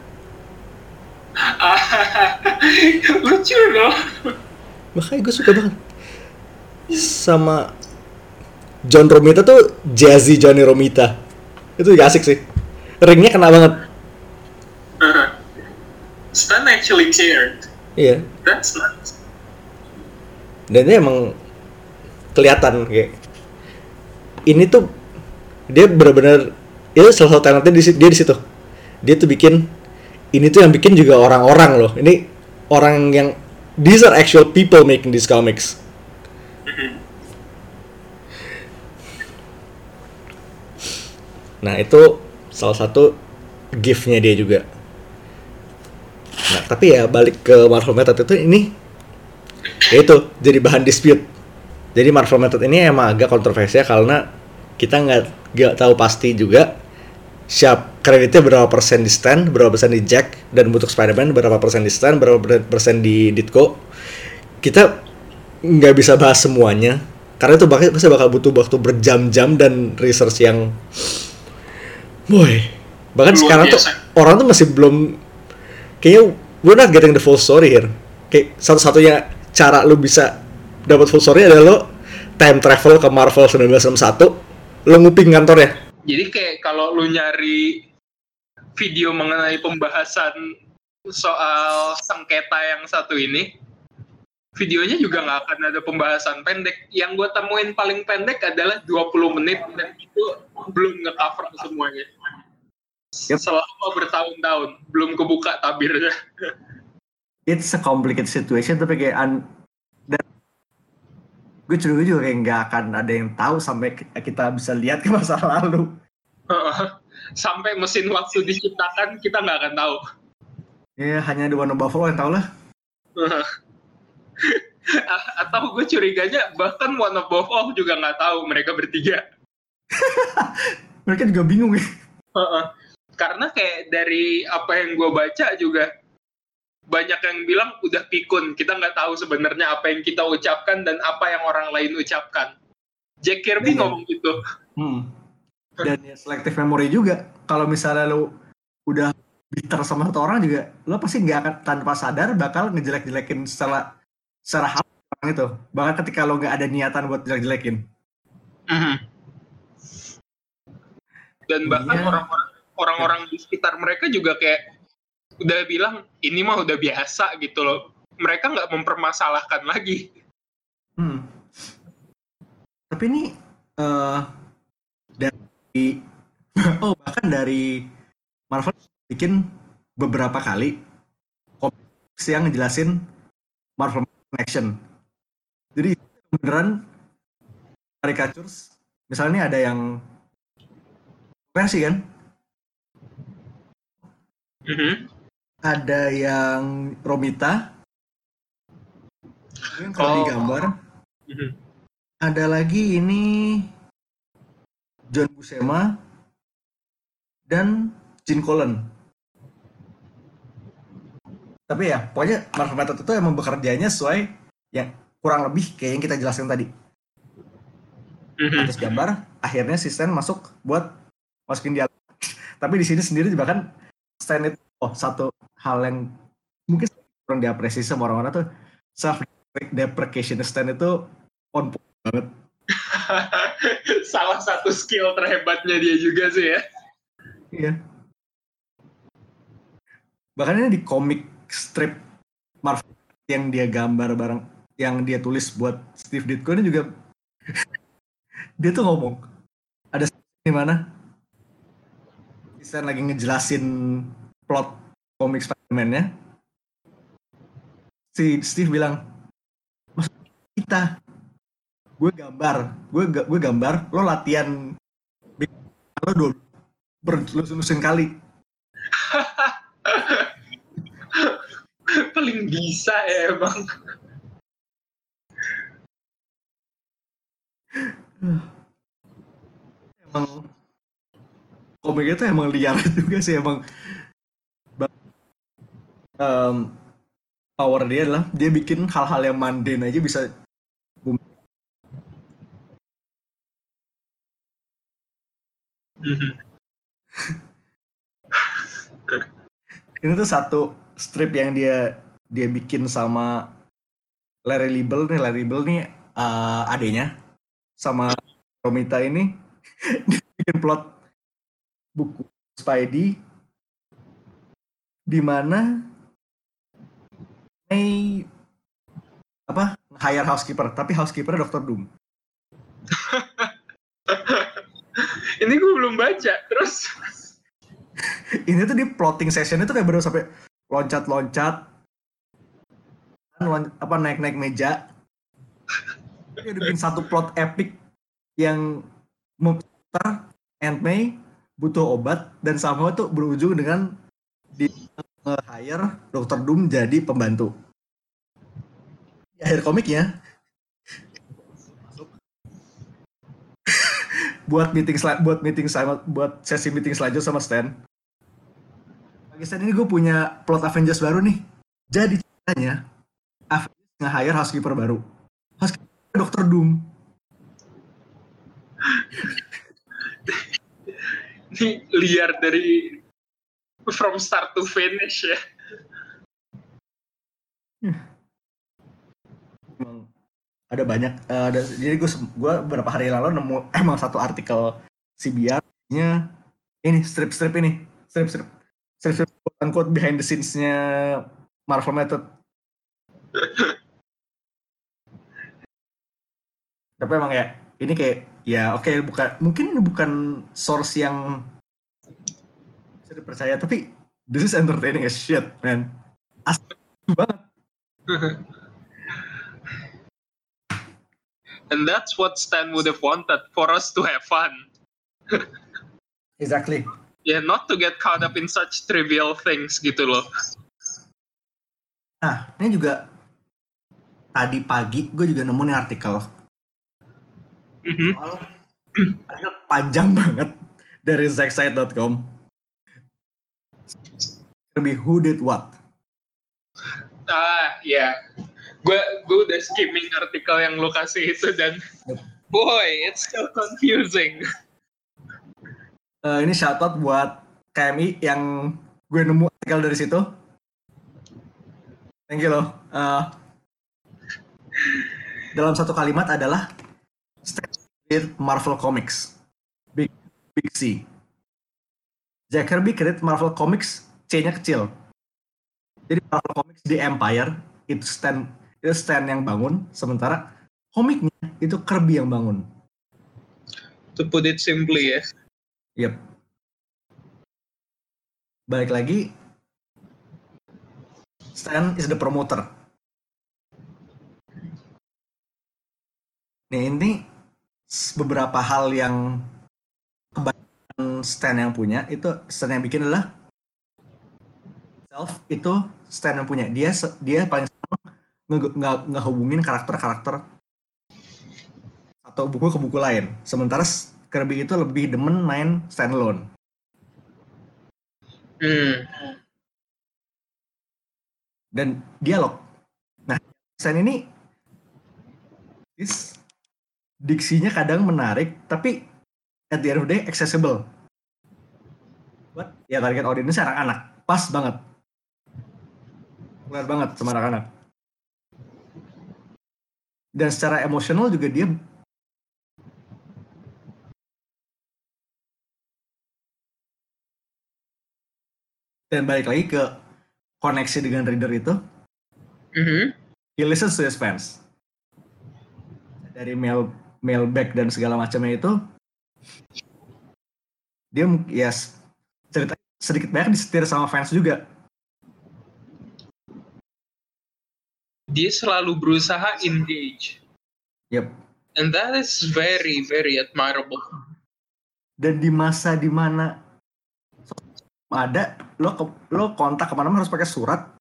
C: Lucu loh.
B: Makanya gue suka banget. Sama John Romita tuh Jazzy Johnny Romita. Itu juga asik sih. Ringnya kena banget.
C: Uh, Stan actually cared.
B: Iya.
C: That's nice.
B: Dan dia emang kelihatan kayak ini tuh dia benar-benar itu salah satu talentnya di dia di situ. Dia tuh bikin ini tuh yang bikin juga orang-orang loh. Ini orang yang these are actual people making these comics. Nah, itu salah satu gift-nya dia juga. Nah, tapi ya balik ke Marvel Method itu ini ya itu jadi bahan dispute. Jadi Marvel Method ini emang agak kontroversial karena kita nggak nggak tahu pasti juga siap kreditnya berapa persen di Stan, berapa persen di Jack, dan untuk Spider-Man berapa persen di Stan, berapa persen di Ditko. Kita nggak bisa bahas semuanya karena itu bakal pasti bakal butuh waktu berjam-jam dan research yang boy. Bahkan
C: Luar
B: sekarang
C: biasa.
B: tuh orang tuh masih belum kayaknya we're not getting the full story here. Kayak satu-satunya cara lu bisa dapat full story adalah lo time travel ke Marvel seribu sembilan ratus enam puluh satu, lo nguping kantornya.
C: Jadi kayak kalau lu nyari video mengenai pembahasan soal sengketa yang satu ini, videonya juga nggak akan ada pembahasan pendek. Yang gue temuin paling pendek adalah dua puluh menit dan itu belum nge-cover semuanya.
B: Yep.
C: Selama bertahun-tahun belum kebuka tabirnya.
B: It's a complicated situation tapi kayak un- dan gue curiga juga kayak nggak akan ada yang tahu sampai kita bisa lihat ke masa lalu.
C: Sampai mesin waktu diciptakan kita nggak akan tahu.
B: Ya hanya The One Buffalo yang tahu lah.
C: Atau gue curiganya bahkan One Above All juga nggak tahu mereka bertiga.
B: Mereka juga bingung ya.
C: Karena kayak dari apa yang gue baca juga banyak yang bilang udah pikun, kita nggak tahu sebenarnya apa yang kita ucapkan dan apa yang orang lain ucapkan. Jack Kirby
B: Dan,
C: ngomong gitu.
B: Hmm. Dan ya selective memory juga. Kalau misalnya lo udah bitter sama satu orang juga, lo pasti nggak akan tanpa sadar bakal ngejelek-jelekin secara secara hal orang itu. Bahkan ketika lo nggak ada niatan buat jelek-jelekin.
C: Mm-hmm. Dan bahkan
B: Iya.
C: orang-orang orang-orang di sekitar mereka juga kayak udah bilang ini mah udah biasa gitu loh. Mereka nggak mempermasalahkan lagi.
B: Hmm. Tapi ini uh, dari oh bahkan dari Marvel bikin beberapa kali komiks yang ngejelasin Marvel Action. Jadi beneran caricatures. Misalnya ini ada yang versi kan?
C: Mm-hmm.
B: Ada yang Romita, yang kalau
C: Oh.
B: digambar.
C: Mm-hmm.
B: Ada lagi ini John Buscema dan Gene Colan. Tapi ya, pokoknya Marvel Method itu emang bekerjanya sesuai yang kurang lebih kayak yang kita jelaskan tadi.
C: Mm-hmm.
B: Atas gambar, akhirnya si Stan masuk buat masukin dialog. Tapi di sini sendiri bahkan Stan itu oh satu hal yang mungkin kurang diapresiasi sama orang-orang tuh self deprecation Stan itu on point banget.
C: Salah satu skill terhebatnya dia juga sih ya.
B: Iya. Bahkan ini di komik strip Marvel yang dia gambar bareng, yang dia tulis buat Steve Ditko ini juga dia tuh ngomong ada di mana Stan lagi ngejelasin plot komik Spider-Man-nya. Si Steve bilang, maksud kita, gue gambar, gue gue gambar, lo latihan, lo dulu berlusun-lusun kali.
C: Paling bisa ya emang.
B: Emang komiknya tuh emang liar juga sih emang. Um, power dia adalah dia bikin hal-hal yang mundane aja bisa boom.
C: Mm-hmm.
B: Ini tuh satu strip yang dia dia bikin sama Larry Liebel nih, Larry Liebel nih uh, adenya sama Romita ini dia bikin plot buku Spidey di mana May apa hire housekeeper tapi housekeeper dokter Doom.
C: Ini gue belum baca terus.
B: Ini tuh di plotting session itu kayak baru sampai loncat-loncat lon- apa naik-naik meja. Dia udah bikin satu plot epic yang Aunt May butuh obat dan sama tuh berujung dengan di nge-hire dokter Doom jadi pembantu. Di akhir komiknya buat meeting buat meeting sama buat sesi meeting selanjutnya sama Stan. Lagi Stan ini gue punya plot Avengers baru nih. Jadi ceritanya Avengers nge-hire housekeeper baru. Housekeeper dokter Doom.
C: Ini liar dari from start to finish ya.
B: Emang ada banyak uh, ada, jadi gue gue beberapa hari lalu nemu emang satu artikel C B R-nya ini strip-strip ini strip-strip strip-strip quote behind the scenes-nya Marvel Method. Tapi emang ya ini kayak ya oke okay, bukan mungkin ini bukan source yang bisa dipercaya tapi this is entertaining as shit man. Asli banget.
C: And that's what Stan would have wanted, for us to have fun.
B: Exactly.
C: Yeah, not to get caught up in such trivial things gitu loh.
B: Nah, ini juga tadi pagi gue juga nemu nih artikel.
C: Mm-hmm.
B: Soal artikel panjang banget dari zackside dot com. Lebih who did what?
C: Ah, ya. Yeah. Gue gue udah skimming artikel yang lo kasih itu dan boy, it's so confusing.
B: Uh, ini shoutout buat K M I yang gue nemu artikel dari situ. Thank you loh. Uh, dalam satu kalimat adalah Stan Marvel Comics. Big Big C. Jack Kirby create Marvel Comics, C-nya kecil. Jadi Marvel Comics di Empire itu Stan itu Stan yang bangun, sementara komiknya itu Kirby yang bangun.
C: To put it simply ya.
B: Yep. Balik lagi, Stan is the promoter. Nih ini beberapa hal yang kebanyakan Stan yang punya itu Stan yang bikin adalah self itu Stan yang punya. Dia dia paling nggak ngehubungin karakter-karakter atau buku ke buku lain. Sementara Kirby itu lebih demen main standalone.
C: Hmm.
B: Dan dialog. Nah, Stan ini is, diksinya kadang menarik, tapi at the end of the day accessible. Buat ya target audience anak-anak, pas banget. Benar banget sama anak-anak. Dan secara emosional juga dia dan balik lagi ke koneksi dengan reader itu.
C: Mm-hmm.
B: He listens to his fans. Dari mail mailback dan segala macamnya itu dia yes cerita sedikit banyak disetir sama fans juga.
C: Dia selalu berusaha engage.
B: Yep.
C: And that is very very admirable. Dan
B: di masa dimana ada lo lo kontak kemana-mana harus pakai surat,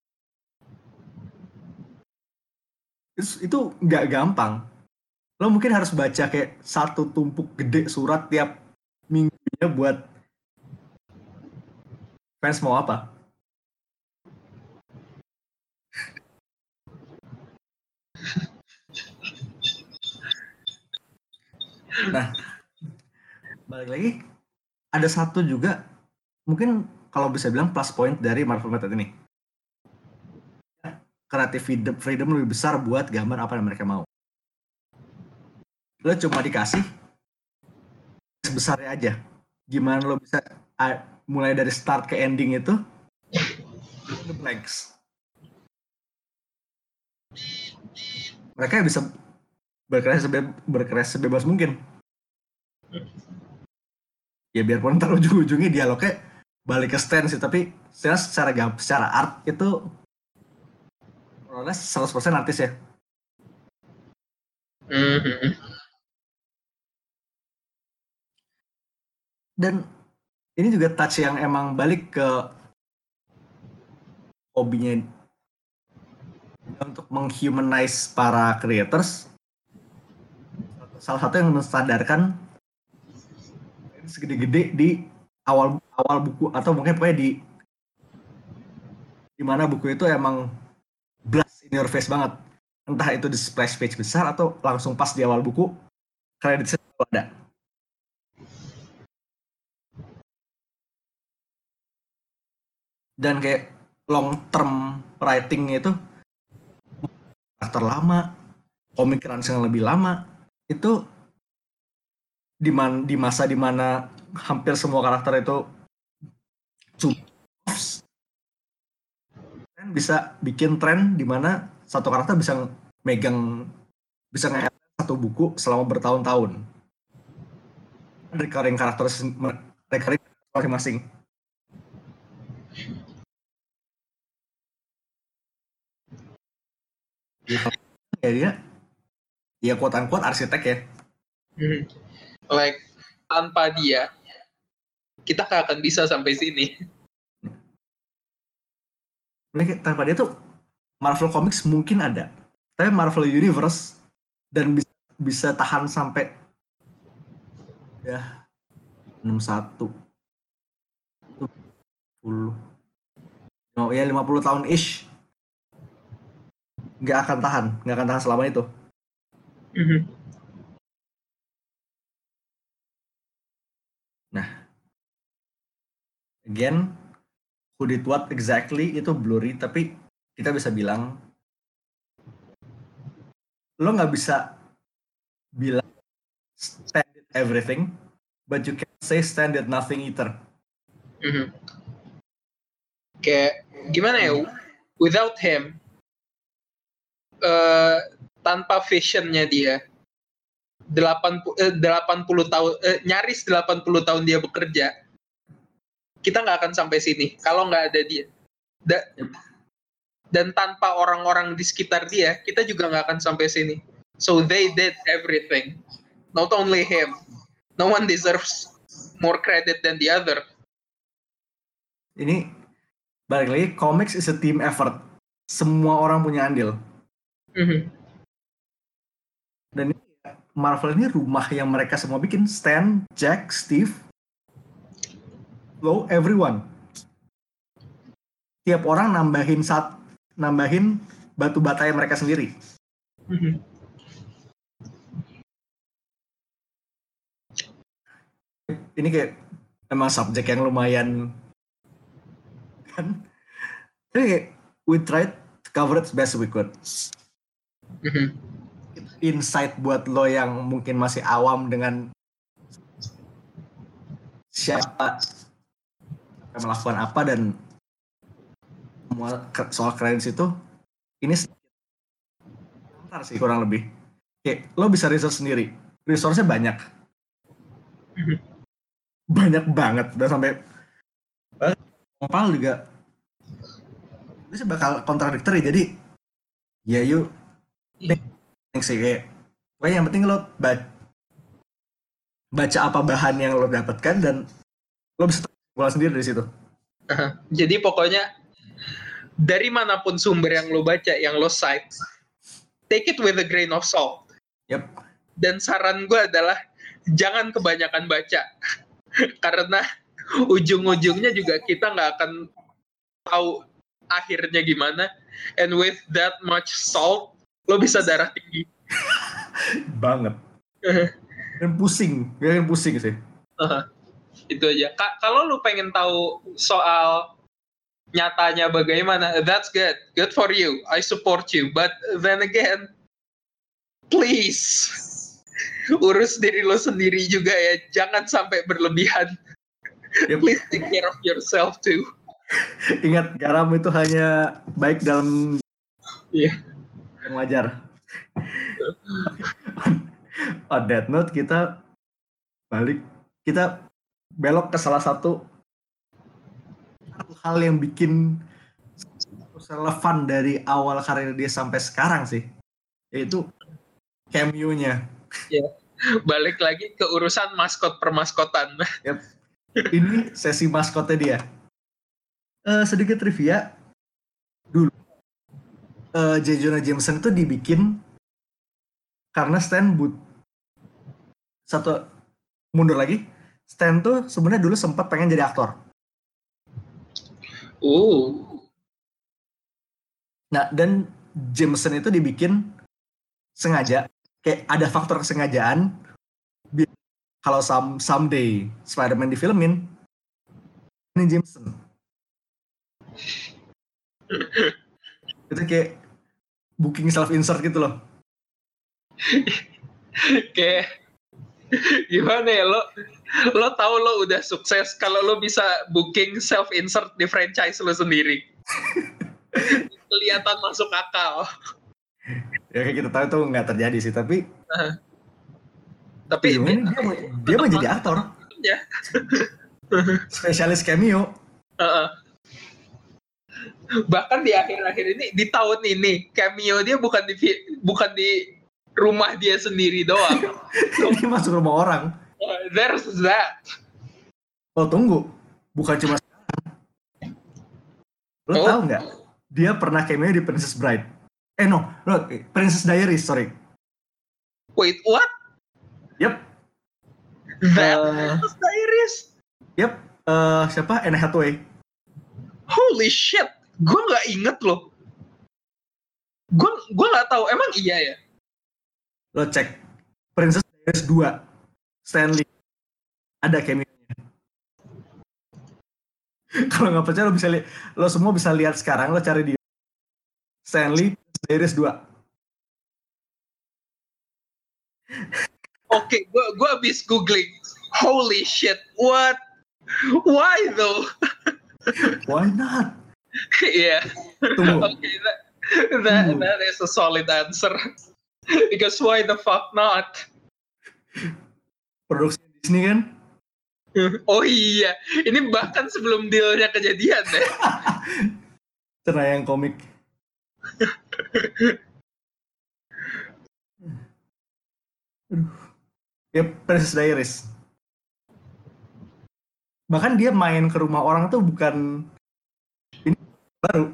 B: itu nggak gampang. Lo mungkin harus baca kayak satu tumpuk gede surat tiap minggunya buat fans mau apa. Nah, balik lagi ada satu juga mungkin kalau bisa bilang plus point dari Marvel Method ini. Creative freedom, freedom lebih besar buat gambar apa yang mereka mau. Lo cuma dikasih sebesarnya aja. Gimana lo bisa uh, mulai dari start ke ending itu the blanks. Mereka bisa berkreasi sebe- berkreasi sebebas mungkin. Ya biarpun ntar ujung-ujungnya dialognya balik ke Stan sih, tapi secara secara, secara art itu proses seratus persen artis ya.
C: Mm-hmm.
B: Dan ini juga touch yang emang balik ke hobinya untuk menghumanize para creators. Salah satu yang mensadarkan segede-gede di awal awal buku atau mungkin pokoknya di di mana buku itu emang blast in your face banget. Entah itu di splash page besar atau langsung pas di awal buku kreditnya ada. Dan kayak long term writing itu karakter lama, komik runs yang lebih lama itu di man, di masa dimana hampir semua karakter itu dan bisa bikin tren di mana satu karakter bisa megang bisa nge satu buku selama bertahun-tahun. Recurring karakter recurring masing-masing. Ya dia ya quote-unquote arsitek ya.
C: Hmm. Like tanpa dia kita gak akan bisa sampai sini.
B: Tanpa dia tuh Marvel Comics mungkin ada, tapi Marvel Universe dan bisa bisa tahan sampai ya enam puluh satu puluh oh ya lima puluh tahun ish nggak akan tahan nggak akan tahan selama itu.
C: Mm-hmm.
B: Nah again who did what exactly itu blurry, tapi kita bisa bilang lo nggak bisa bilang Stan did everything but you can say Stan did nothing either.
C: Mm-hmm. Kayak gimana ya, without him uh, tanpa visionnya dia delapan puluh tahun uh, nyaris delapan puluh tahun dia bekerja, kita nggak akan sampai sini kalau nggak ada dia. Da- dan tanpa orang-orang di sekitar dia, kita juga nggak akan sampai sini. So they did everything, not only him. No one deserves more credit than the other.
B: Ini balik lagi, comics is a team effort. Semua orang punya andil.
C: Mm-hmm.
B: Dan ini, Marvel ini rumah yang mereka semua bikin. Stan, Jack, Steve, Lo, everyone. Tiap orang nambahin saat nambahin batu batanya mereka sendiri.
C: Mm-hmm.
B: Ini kayak emang subjek yang lumayan kan. Jadi kayak we tried to cover it best we could.
C: Mm-hmm.
B: Insight buat lo yang mungkin masih awam dengan siapa yang melakukan apa dan soal kredit itu, ini sebentar sih kurang lebih. Oke, lo bisa research sendiri. Resource-nya banyak.
C: Mm-hmm.
B: Banyak banget. Dan sampai Opal juga itu bakal kontradiktori. Jadi ya yuk sih kayak pokoknya yang penting lo baca, baca apa bahan yang lo dapatkan dan lo bisa kesimpulan sendiri dari situ.
C: Uh, jadi pokoknya dari manapun sumber yang lo baca, yang lo cite, take it with a grain of salt.
B: Yep.
C: Dan saran gue adalah jangan kebanyakan baca karena ujung-ujungnya juga kita nggak akan tahu akhirnya gimana. And with that much salt, lo bisa darah tinggi.
B: Banget. Dan pusing, bikin pusing sih.
C: Uh, itu aja. Ka- kalau lo pengen tahu soal nyatanya bagaimana, that's good. Good for you. I support you. But then again, please urus diri lo sendiri juga ya. Jangan sampai berlebihan. Yep. Please take care of yourself too.
B: Ingat, garam itu hanya baik dalam
C: yeah.
B: yang wajar. On that note, kita balik, kita belok ke salah satu hal yang bikin relevan dari awal karir dia sampai sekarang sih, yaitu cameo-nya.
C: Yeah. Balik lagi ke urusan maskot permaskotan.
B: Yep. Ini sesi maskotnya dia. Uh, sedikit trivia, uh, J. Jonah Jameson itu dibikin karena Stan but satu mundur lagi. Stan tuh sebenarnya dulu sempat pengen jadi aktor.
C: Uh.
B: Nah, dan Jameson itu dibikin sengaja, kayak ada faktor kesengajaan. Kalau some, someday Spider-Man difilmin, ini Jameson. Itu kayak booking self-insert gitu loh.
C: Kayak gimana ya, lo lo tahu lo udah sukses kalau lo bisa booking self-insert di franchise lo sendiri. Kelihatan masuk akal.
B: Ya kayak kita tahu itu nggak terjadi sih, tapi
C: uh, tapi
B: dia, dia, mau, dia mau jadi aktor
C: ya.
B: Spesialis cameo.
C: Uh-uh. Bahkan di akhir-akhir ini, di tahun ini, cameo dia bukan di bukan di rumah dia sendiri doang.
B: Dia masuk rumah orang.
C: Uh, there's that.
B: Oh tunggu, bukan cuma lo oh. Tahu nggak? Dia pernah cameo di Princess Bride. Eh no, no, Princess Diaries, sorry.
C: Wait, what?
B: Yep.
C: That uh, Princess Diaries?
B: Yep. Uh, siapa? Anne Hathaway.
C: Holy shit, gue nggak inget loh. Gue gue nggak tahu. Emang iya ya?
B: Lo cek Princess Diaries dua, Stanley ada cameo-nya. Kalau nggak percaya lo bisa lihat, lo semua bisa lihat sekarang. Lo cari di Stanley Diaries dua.
C: Oke, gue gue abis googling. Holy shit, what? Why though?
B: Why not?
C: Yeah. Okay, that that, that is a solid answer. Because why the fuck not?
B: Produksi Disney kan?
C: Oh iya, ini bahkan sebelum dealnya kejadian deh.
B: Cenayang komik. Ya, Princess Diaries. Bahkan dia main ke rumah orang tuh bukan ini baru.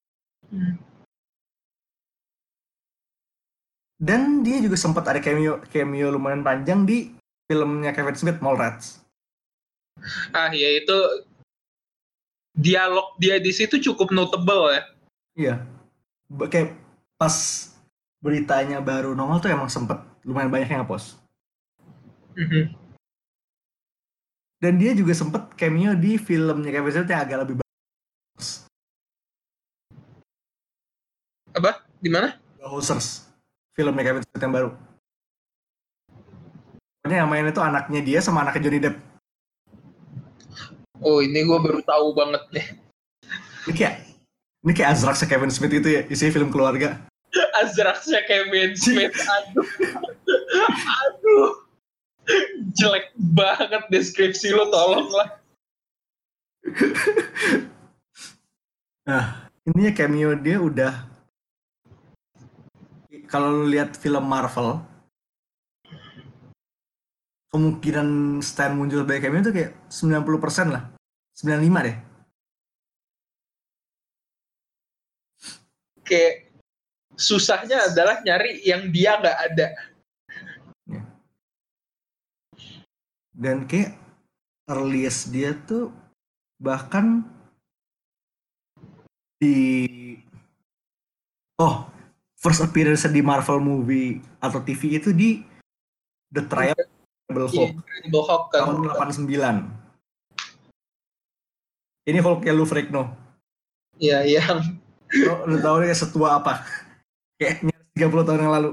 B: Dan dia juga sempat ada cameo cameo lumayan panjang di filmnya Kevin Smith, Mallrats.
C: Ah ya, itu dialog dia di situ cukup notable ya.
B: Iya. Kayak pas beritanya baru nongol tuh emang sempat lumayan banyak yang nge-post. Mm-hmm. Dan dia juga sempat cameo di filmnya Kevin Smith yang agak lebih bagus.
C: Apa? Di mana?
B: The Hosers. Filmnya Kevin Smith yang baru. Pokoknya yang main itu anaknya dia sama anaknya Johnny Depp.
C: Oh, ini gue baru tahu banget nih.
B: Ini kayak ini kayak Azraxnya Kevin Smith itu ya, isi film keluarga.
C: Azraxnya Kevin Smith, aduh. Aduh. Jelek banget deskripsi lo, tolonglah.
B: Nah, ininya cameo dia udah, kalau lu lihat film Marvel, kemungkinan Stan muncul sebagai cameo itu kayak sembilan puluh persen lah. sembilan puluh lima deh.
C: Kayak susahnya adalah nyari yang dia nggak ada.
B: Ya. Dan kayak earliest dia tuh bahkan di oh first appearance di Marvel movie atau T V itu di The Trial of Incredible Hulk,
C: Incredible Hulk kan.
B: tahun delapan puluh sembilan. Ini Hulk-nya Lou Ferrigno.
C: Iya, yang
B: lo udah tahu dia setua apa? Kayaknya tiga puluh tahun yang lalu.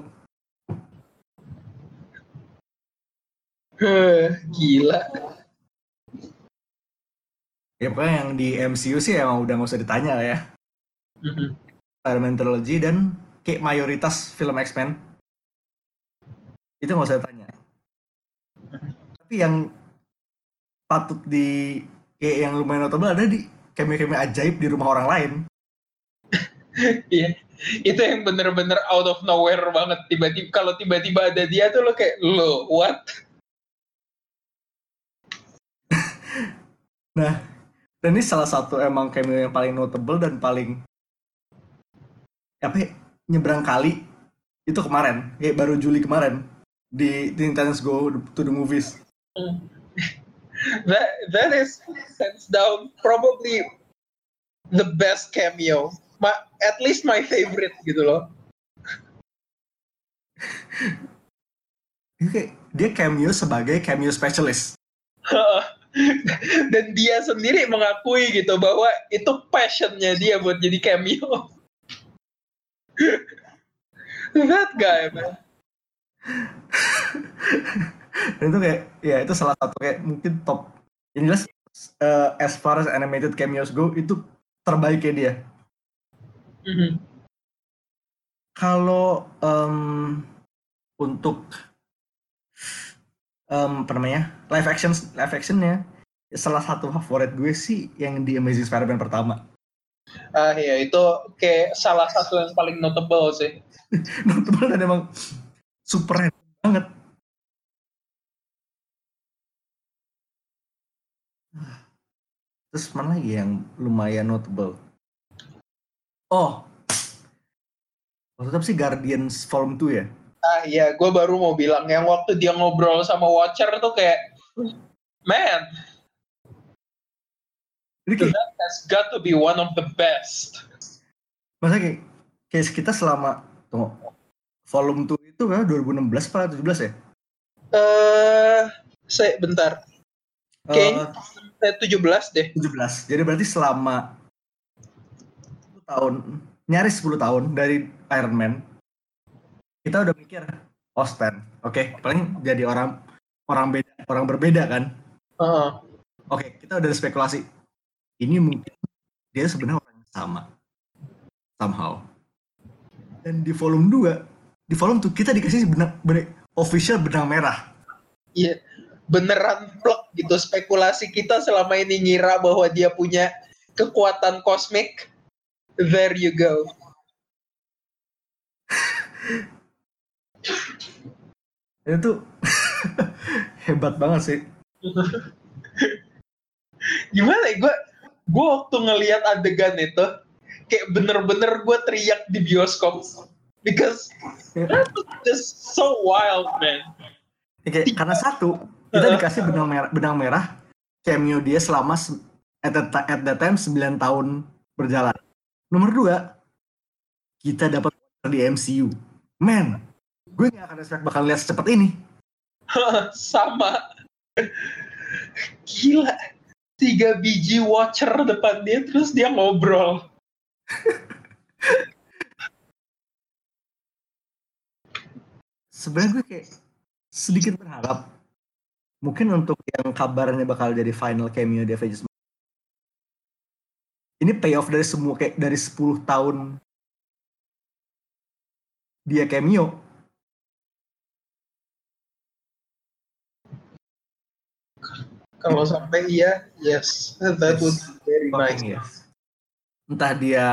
C: Gila.
B: Ya pokoknya yang di M C U sih emang udah gak usah ditanya lah ya. Mm-hmm. Spider-Man Trilogy dan kayak mayoritas film X-Men itu gak usah ditanya. Tapi yang patut di kayak yang lumayan notable ada di cameo-cameo ajaib di rumah orang lain.
C: Iya, itu yang bener-bener out of nowhere banget. Tiba-tiba kalau tiba-tiba ada dia tuh lo kayak lo what?
B: Nah, dan ini salah satu emang cameo yang paling notable dan paling apa ya, nyebrang kali itu kemarin, kayak baru Juli kemarin di Teen Titans Go to the Movies.
C: that that is hands down probably the best cameo. My, at least my favorite gitu loh.
B: Dia kayak dia cameo sebagai cameo specialist.
C: Dan dia sendiri mengakui gitu bahwa itu passionnya dia buat jadi cameo. That guy, man.
B: Dan itu kayak ya itu salah satu kayak mungkin top. Yang jelas uh, as far as animated cameos go itu terbaiknya dia.
C: Mm-hmm.
B: Kalau um, untuk um, apa namanya live action live actionnya salah satu favorit gue sih yang di Amazing Spider-Man pertama.
C: Ah ya itu kayak salah satu yang paling notable sih.
B: Notable dan emang super banget. Terus mana lagi yang lumayan notable? Oh, waktu itu sih Guardians Volume two ya?
C: Ah iya, gue baru mau bilang yang waktu dia ngobrol sama Watcher tuh kayak, man,
B: kayak,
C: that has got to be one of the best.
B: Masa kayak, kayak kita selama, tunggu, Volume two itu kan dua ribu enam belas atau tujuh belas ya?
C: Eh, uh, saya bentar. Kayaknya uh, tujuh belas deh.
B: tujuh belas. Jadi berarti selama sepuluh tahun, nyaris sepuluh tahun dari Iron Man, kita udah mikir, oh Stan, oke, okay, paling jadi orang orang beda, orang berbeda kan?
C: Uh-huh.
B: Oke, okay, kita udah spekulasi. Ini mungkin dia sebenarnya orang yang sama, somehow. Dan di volume dua, di volume two kita dikasih benang, benang official benang merah.
C: Iya, yeah. Beneran plek gitu. Spekulasi kita selama ini ngira bahwa dia punya kekuatan kosmik. There you go.
B: Itu hebat banget sih.
C: Gimana ya, gue gue waktu ngelihat adegan itu kayak bener-bener gue teriak di bioskop because that was just so wild, man.
B: Oke, karena satu kita dikasih benang merah, benang merah cameo dia selama at that, at that time sembilan tahun berjalan. Nomor dua, kita dapat di M C U. Man, gue gak akan expect bakal lihat secepat ini.
C: Sama. Gila. Tiga biji Watcher depan dia, terus dia ngobrol.
B: Sebenarnya gue kayak sedikit berharap mungkin untuk yang kabarnya bakal jadi final cameo di Avengers. Ini payoff dari semua kayak dari sepuluh tahun dia cameo.
C: Kalau sampai iya, yes, that would be very nice.
B: Yes. Entah dia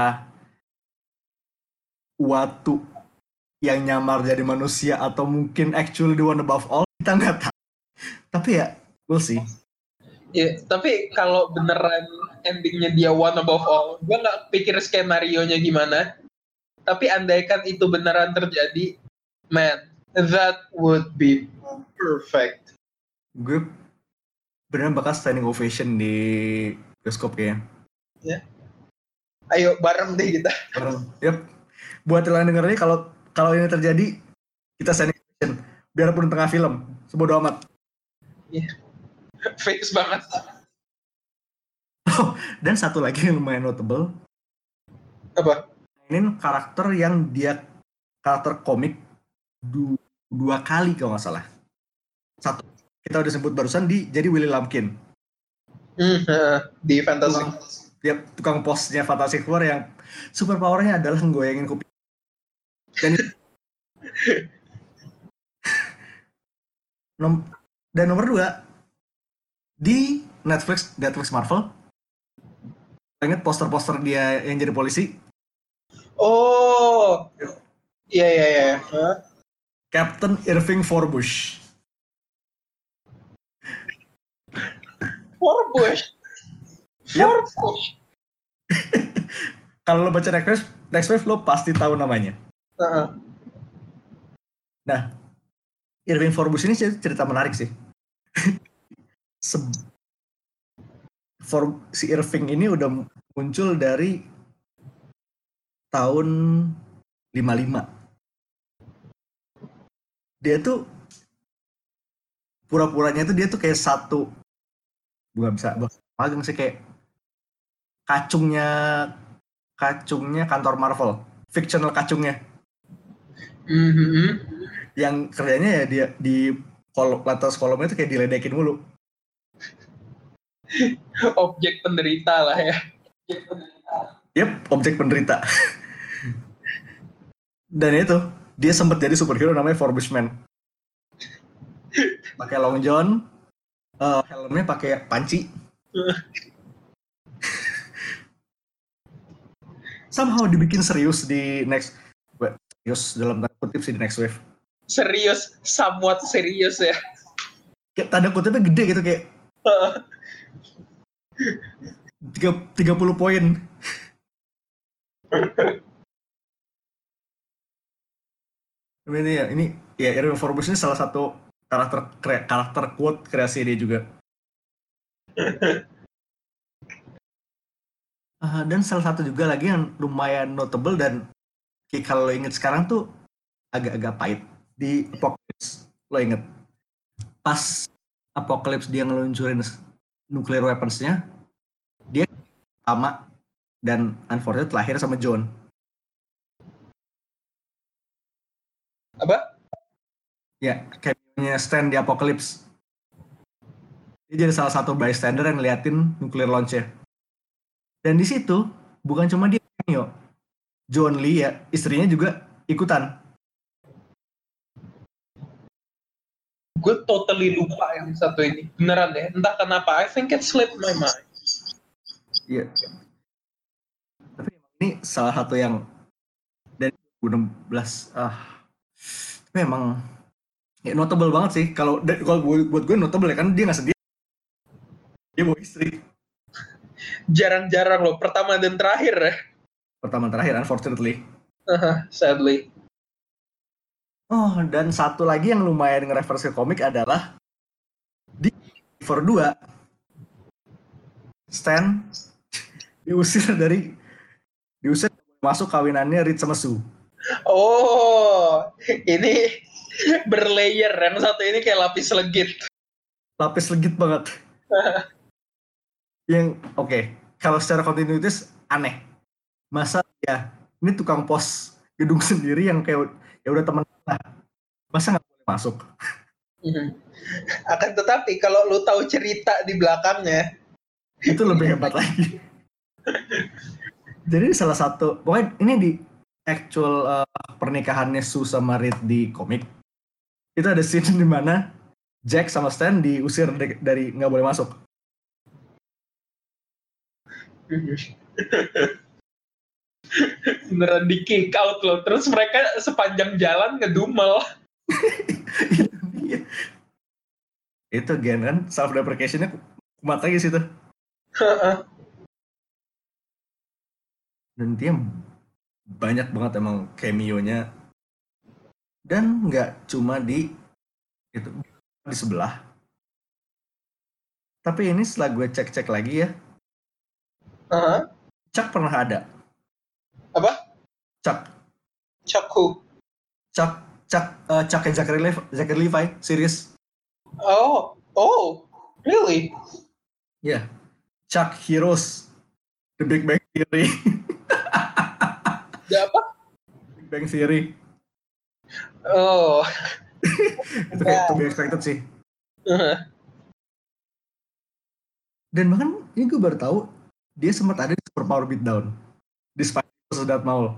B: Watu yang nyamar jadi manusia atau mungkin actually the one above all, kita nggak tahu. Tapi ya, we'll see.
C: Ya, tapi kalau beneran endingnya dia one above all, gue nggak pikir skenario-nya gimana. Tapi andaikan itu beneran terjadi, man, that would be perfect.
B: Gue beneran bakal standing ovation di bioskop kayaknya.
C: Ya. Ayo bareng deh kita.
B: Bareng. Yep. Buat yang denger ini, kalau kalau ini terjadi, kita standing ovation. Biarpun tengah film, sebodo amat.
C: Iya. Yeah. Fix banget.
B: Oh, dan satu lagi yang lumayan notable.
C: Apa?
B: Ini karakter yang dia karakter komik du, dua kali kalau nggak salah. Satu kita udah sebut barusan di jadi Willy Lumpkin.
C: Mm, uh, di Fantastic.
B: Tukang, ya, tukang posnya Fantastic Four yang super powernya adalah nggoyangin kuping. Dan nom, dan nomor dua di Netflix Netflix Marvel. Ingat poster-poster dia yang jadi polisi?
C: Oh, iya iya iya. Huh?
B: Captain Irving Forbush.
C: Forbush.
B: Yep.
C: Forbush.
B: Kalau lo baca Next Wave, Next Wave lo pasti tahu namanya.
C: Uh-uh.
B: Nah, Irving Forbes ini cerita menarik sih. Se- For, si Irving ini udah muncul dari tahun lima puluh lima. Dia tuh pura-puranya tuh dia tuh kayak satu, bukan bisa magang sih, kayak kacungnya kacungnya kantor Marvel, fictional kacungnya.
C: Mm-hmm.
B: Yang kerjanya ya dia di kolom atas kolomnya tuh kayak diledekin mulu.
C: Objek penderita lah ya.
B: Yep, objek penderita. Dan itu dia sempat jadi superhero namanya Forbes Man. Pakai long john, uh, helmnya pakai panci. Somehow dibikin serius di next, serius dalam tanda kutip sih di Next Wave.
C: Serius, somewhat serius ya.
B: Kayak tanda kutipnya gede gitu kayak tiga puluh poin. Ini ya, ini ya Irving Forbes ini salah satu karakter kre, karakter quote kreasi dia juga. uh, dan salah satu juga lagi yang lumayan notable dan kayak kalau lo inget sekarang tuh agak-agak pahit di Apocalypse. Lo inget pas Apocalypse dia ngeluncurin nuclear weapons-nya, dia sama dan unfortunately lahir sama John.
C: Apa?
B: Ya, cameo-nya Stan di Apocalypse. Dia jadi salah satu bystander yang ngeliatin nuclear launch-nya. Dan di situ bukan cuma dia cameo, John Lee ya, istrinya juga ikutan.
C: Gue totally lupa yang satu ini. Beneran deh, entah kenapa. I think it slipped my mind.
B: Iya. Tapi ini salah satu yang dari dua ribu enam belas ah tapi emang ya notable banget sih. Kalau kalau buat gue notable ya kan dia nggak sendiri, dia bawa istri.
C: Jarang-jarang loh, pertama dan terakhir ya.
B: Pertama terakhir unfortunately.
C: Uh-huh, sadly.
B: Oh, dan satu lagi yang lumayan nge-reference ke komik adalah di For dua Stan diusir dari diusir masuk kawinannya Reed sama Sue.
C: Oh, ini berlayer. Yang satu ini kayak lapis legit.
B: Lapis legit banget. Yang oke, okay, kalau secara kontinuitas aneh. Masa ya ini tukang pos gedung sendiri yang kayak ya udah teman lah, masa nggak boleh masuk?
C: Mm-hmm. Akan tetapi kalau lu tahu cerita di belakangnya
B: itu lebih hebat lagi. Jadi salah satu pokoknya ini di actual uh, pernikahannya Sue sama Reed di komik itu ada scene di mana Jack sama Stan diusir de- dari nggak boleh masuk.
C: Beneran di kick out loh. Terus mereka sepanjang jalan ngedumel.
B: Itu gen kan self deprecationnya kumat lagi situ. Dan dia banyak banget emang cameo-nya. Dan nggak cuma di itu di sebelah. Tapi ini setelah gue cek-cek lagi ya,
C: Uh-huh.
B: Chuck pernah ada.
C: Apa?
B: Chuck.
C: Chuck who?
B: Chuck, Chuck, uh, Chuck and Zachary Levi, Zachary Levi series.
C: Oh, oh, really?
B: Ya, yeah. Chuck Heroes, The Big Bang Theory.
C: Ya apa?
B: Big Bang Theory.
C: Oh.
B: Itu kayak to be expected sih.
C: Uh-huh.
B: Dan bahkan ini gue baru tahu dia sempat ada di Super Power Beatdown di Spider-Man Darth Maul.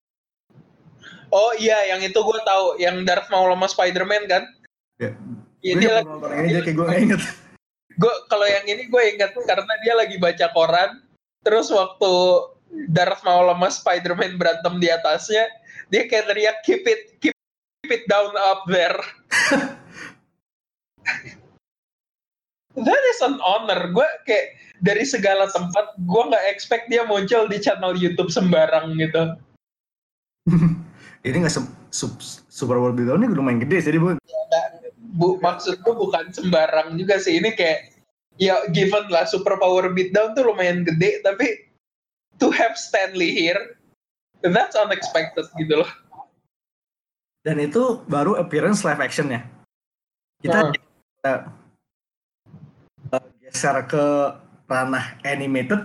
C: Oh iya, yang itu gue tahu, yang Darth Maul sama Spider-Man kan?
B: Ya.
C: Iya,
B: Gue
C: dia
B: lagi nonton ini aja kayak gue nggak inget.
C: Gue kalau yang ini gue inget karena dia lagi baca koran, terus waktu Darth Maul sama Spider-Man berantem di atasnya, dia kayak teriak keep it keep, keep it down up there. that is an honor. Gue kayak dari segala tempat, gue nggak expect dia muncul di channel YouTube sembarang gitu.
B: Ini nggak se- sub- Super World Beatdown ini lumayan gede sih, jadi bu.
C: Ya, bu, maksud gue bukan sembarang juga sih. Ini kayak ya given lah Super Power Beatdown tuh lumayan gede, tapi to have Stanley here, that's unexpected gitu loh.
B: Dan itu baru appearance live action ya. Kita uh. uh, geser ke ranah animated.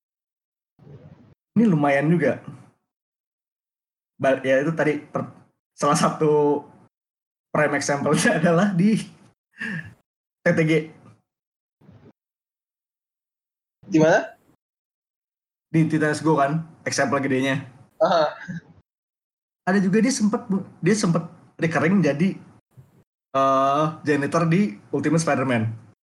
B: Ini lumayan juga. Ya itu tadi per, salah satu prime example-nya adalah di T T G.
C: Di mana?
B: Di Titanes Go kan, example gedenya.
C: Uh-huh.
B: Ada juga dia sempat dia sempat recurring jadi uh, janitor di Ultimate Spider-Man.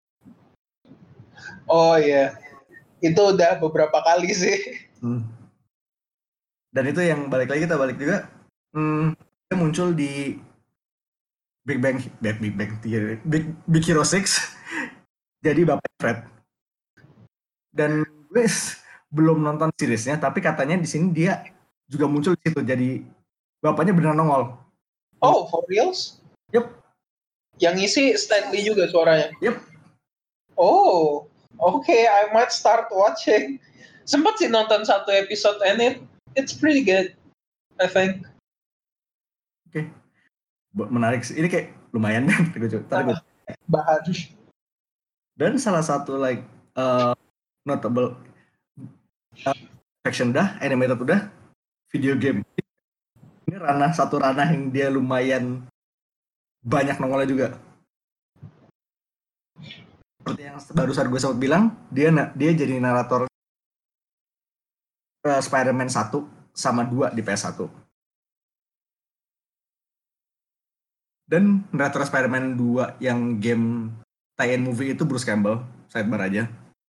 C: Oh iya, itu udah beberapa kali sih. Hmm.
B: Dan itu yang balik lagi kita balik juga, hmm, dia muncul di Big Bang, Big Big Bang Theory, Big Big Hero six, jadi bapak Fred. Dan gue belum nonton seriesnya, tapi katanya di sini dia juga muncul di situ, jadi bapaknya benar nongol.
C: Oh, for reals?
B: Yep.
C: Yang ngisi Stanley juga suaranya?
B: Yep.
C: Oh, oke, okay, I might start watching. Sempat sih nonton satu episode and it, it's pretty good, I think.
B: Oke. Okay. Menarik sih. Ini kayak lumayan deh.
C: uh, bahan.
B: Dan salah satu like uh, notable uh, section udah, animated udah, video game. Ini ranah satu ranah yang dia lumayan banyak nongolnya juga. Seperti yang barusan gue sempat bilang, dia dia jadi narator uh, Spider-Man satu sama dua di P S satu. Dan narator Spider-Man dua yang game tie-in movie itu Bruce Campbell, sidebar aja.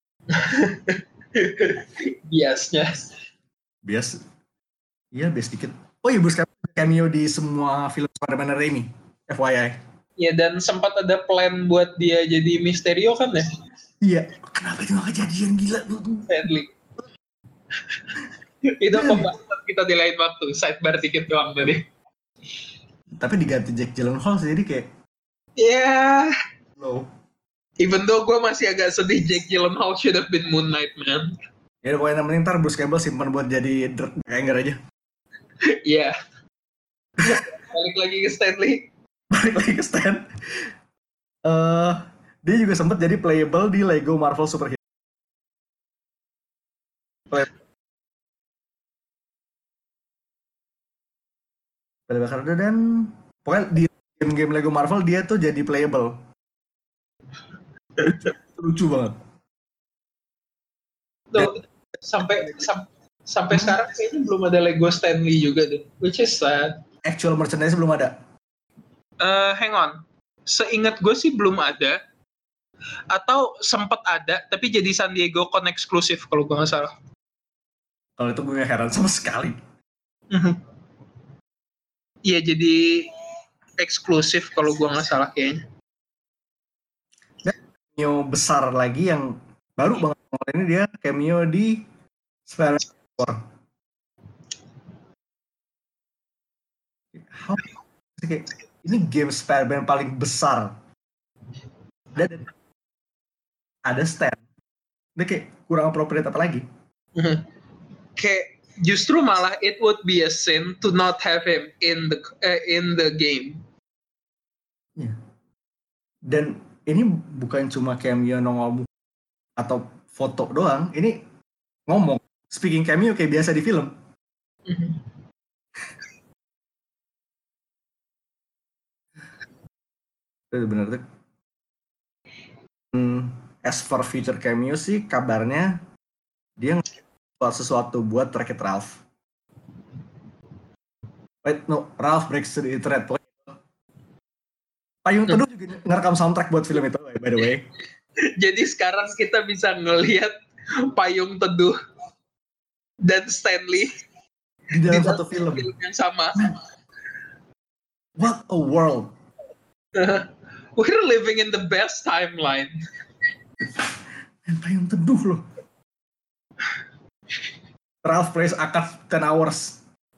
C: Biasnya.
B: Bias. Iya, bias dikit. Oh iya, Bruce Campbell cameo di semua film Spider-Man Raimi, F Y I.
C: Iya, dan sempat ada plan buat dia jadi Mysterio kan ya?
B: Iya. Kenapa itu gak kejadian, gila tuh?
C: Sadly. Itu pembahasan kita di lain waktu, sidebar dikit doang tadi.
B: Tapi diganti Jake Gyllenhaal sih, jadi kayak...
C: Ya... Yeah.
B: Low.
C: Even though gue masih agak sedih, Jake Gyllenhaal should have been Moon Knight, man.
B: Ya pokoknya yang penting ntar Bruce Campbell simpan buat jadi Hanger aja.
C: Iya. Yeah. Balik lagi ke Stanley.
B: Balik lagi ke Stan. Uh, dia juga sempat jadi playable di Lego Marvel Super Hero. Play- Playable dan pokoknya di game-game Lego Marvel dia tuh jadi playable. Lucu banget.
C: Tuh, sampai sam, sampai sekarang kayaknya belum ada Lego Stanley juga deh, which is sad.
B: Actual merchandise belum ada.
C: Uh, hang on, seingat gue sih belum ada, atau sempat ada tapi jadi San Diego Con eksklusif kalau gue nggak salah.
B: Kalau itu gue heran sama sekali.
C: Iya, jadi eksklusif kalau gue nggak salah kayaknya.
B: Cameo besar lagi yang baru banget ini dia cameo di Spider-Man four. How ini game Spider-Man paling besar dan ada Stan. Ini kayak kurang appropriate apa lagi?
C: Kayak justru malah it would be a sin to not have him in the uh, in the game.
B: Ya. Dan ini bukan cuma cameo nongol atau foto doang, ini ngomong, speaking cameo kayak biasa di film. Mm-hmm. Itu bener tuh. Hmm, as for future cameo sih, kabarnya dia buat sesuatu buat Wreck-It Ralph. Wait, no, Ralph Breaks the Internet. Payung Teduh juga ngerekam soundtrack buat film itu, by the way.
C: Jadi sekarang kita bisa ngelihat Payung Teduh dan Stanley
B: di dalam satu film.
C: film yang sama.
B: What a world.
C: Uh, we're living in the best timeline.
B: Dan payung teduh loh. Ralph plays Akad ten hours.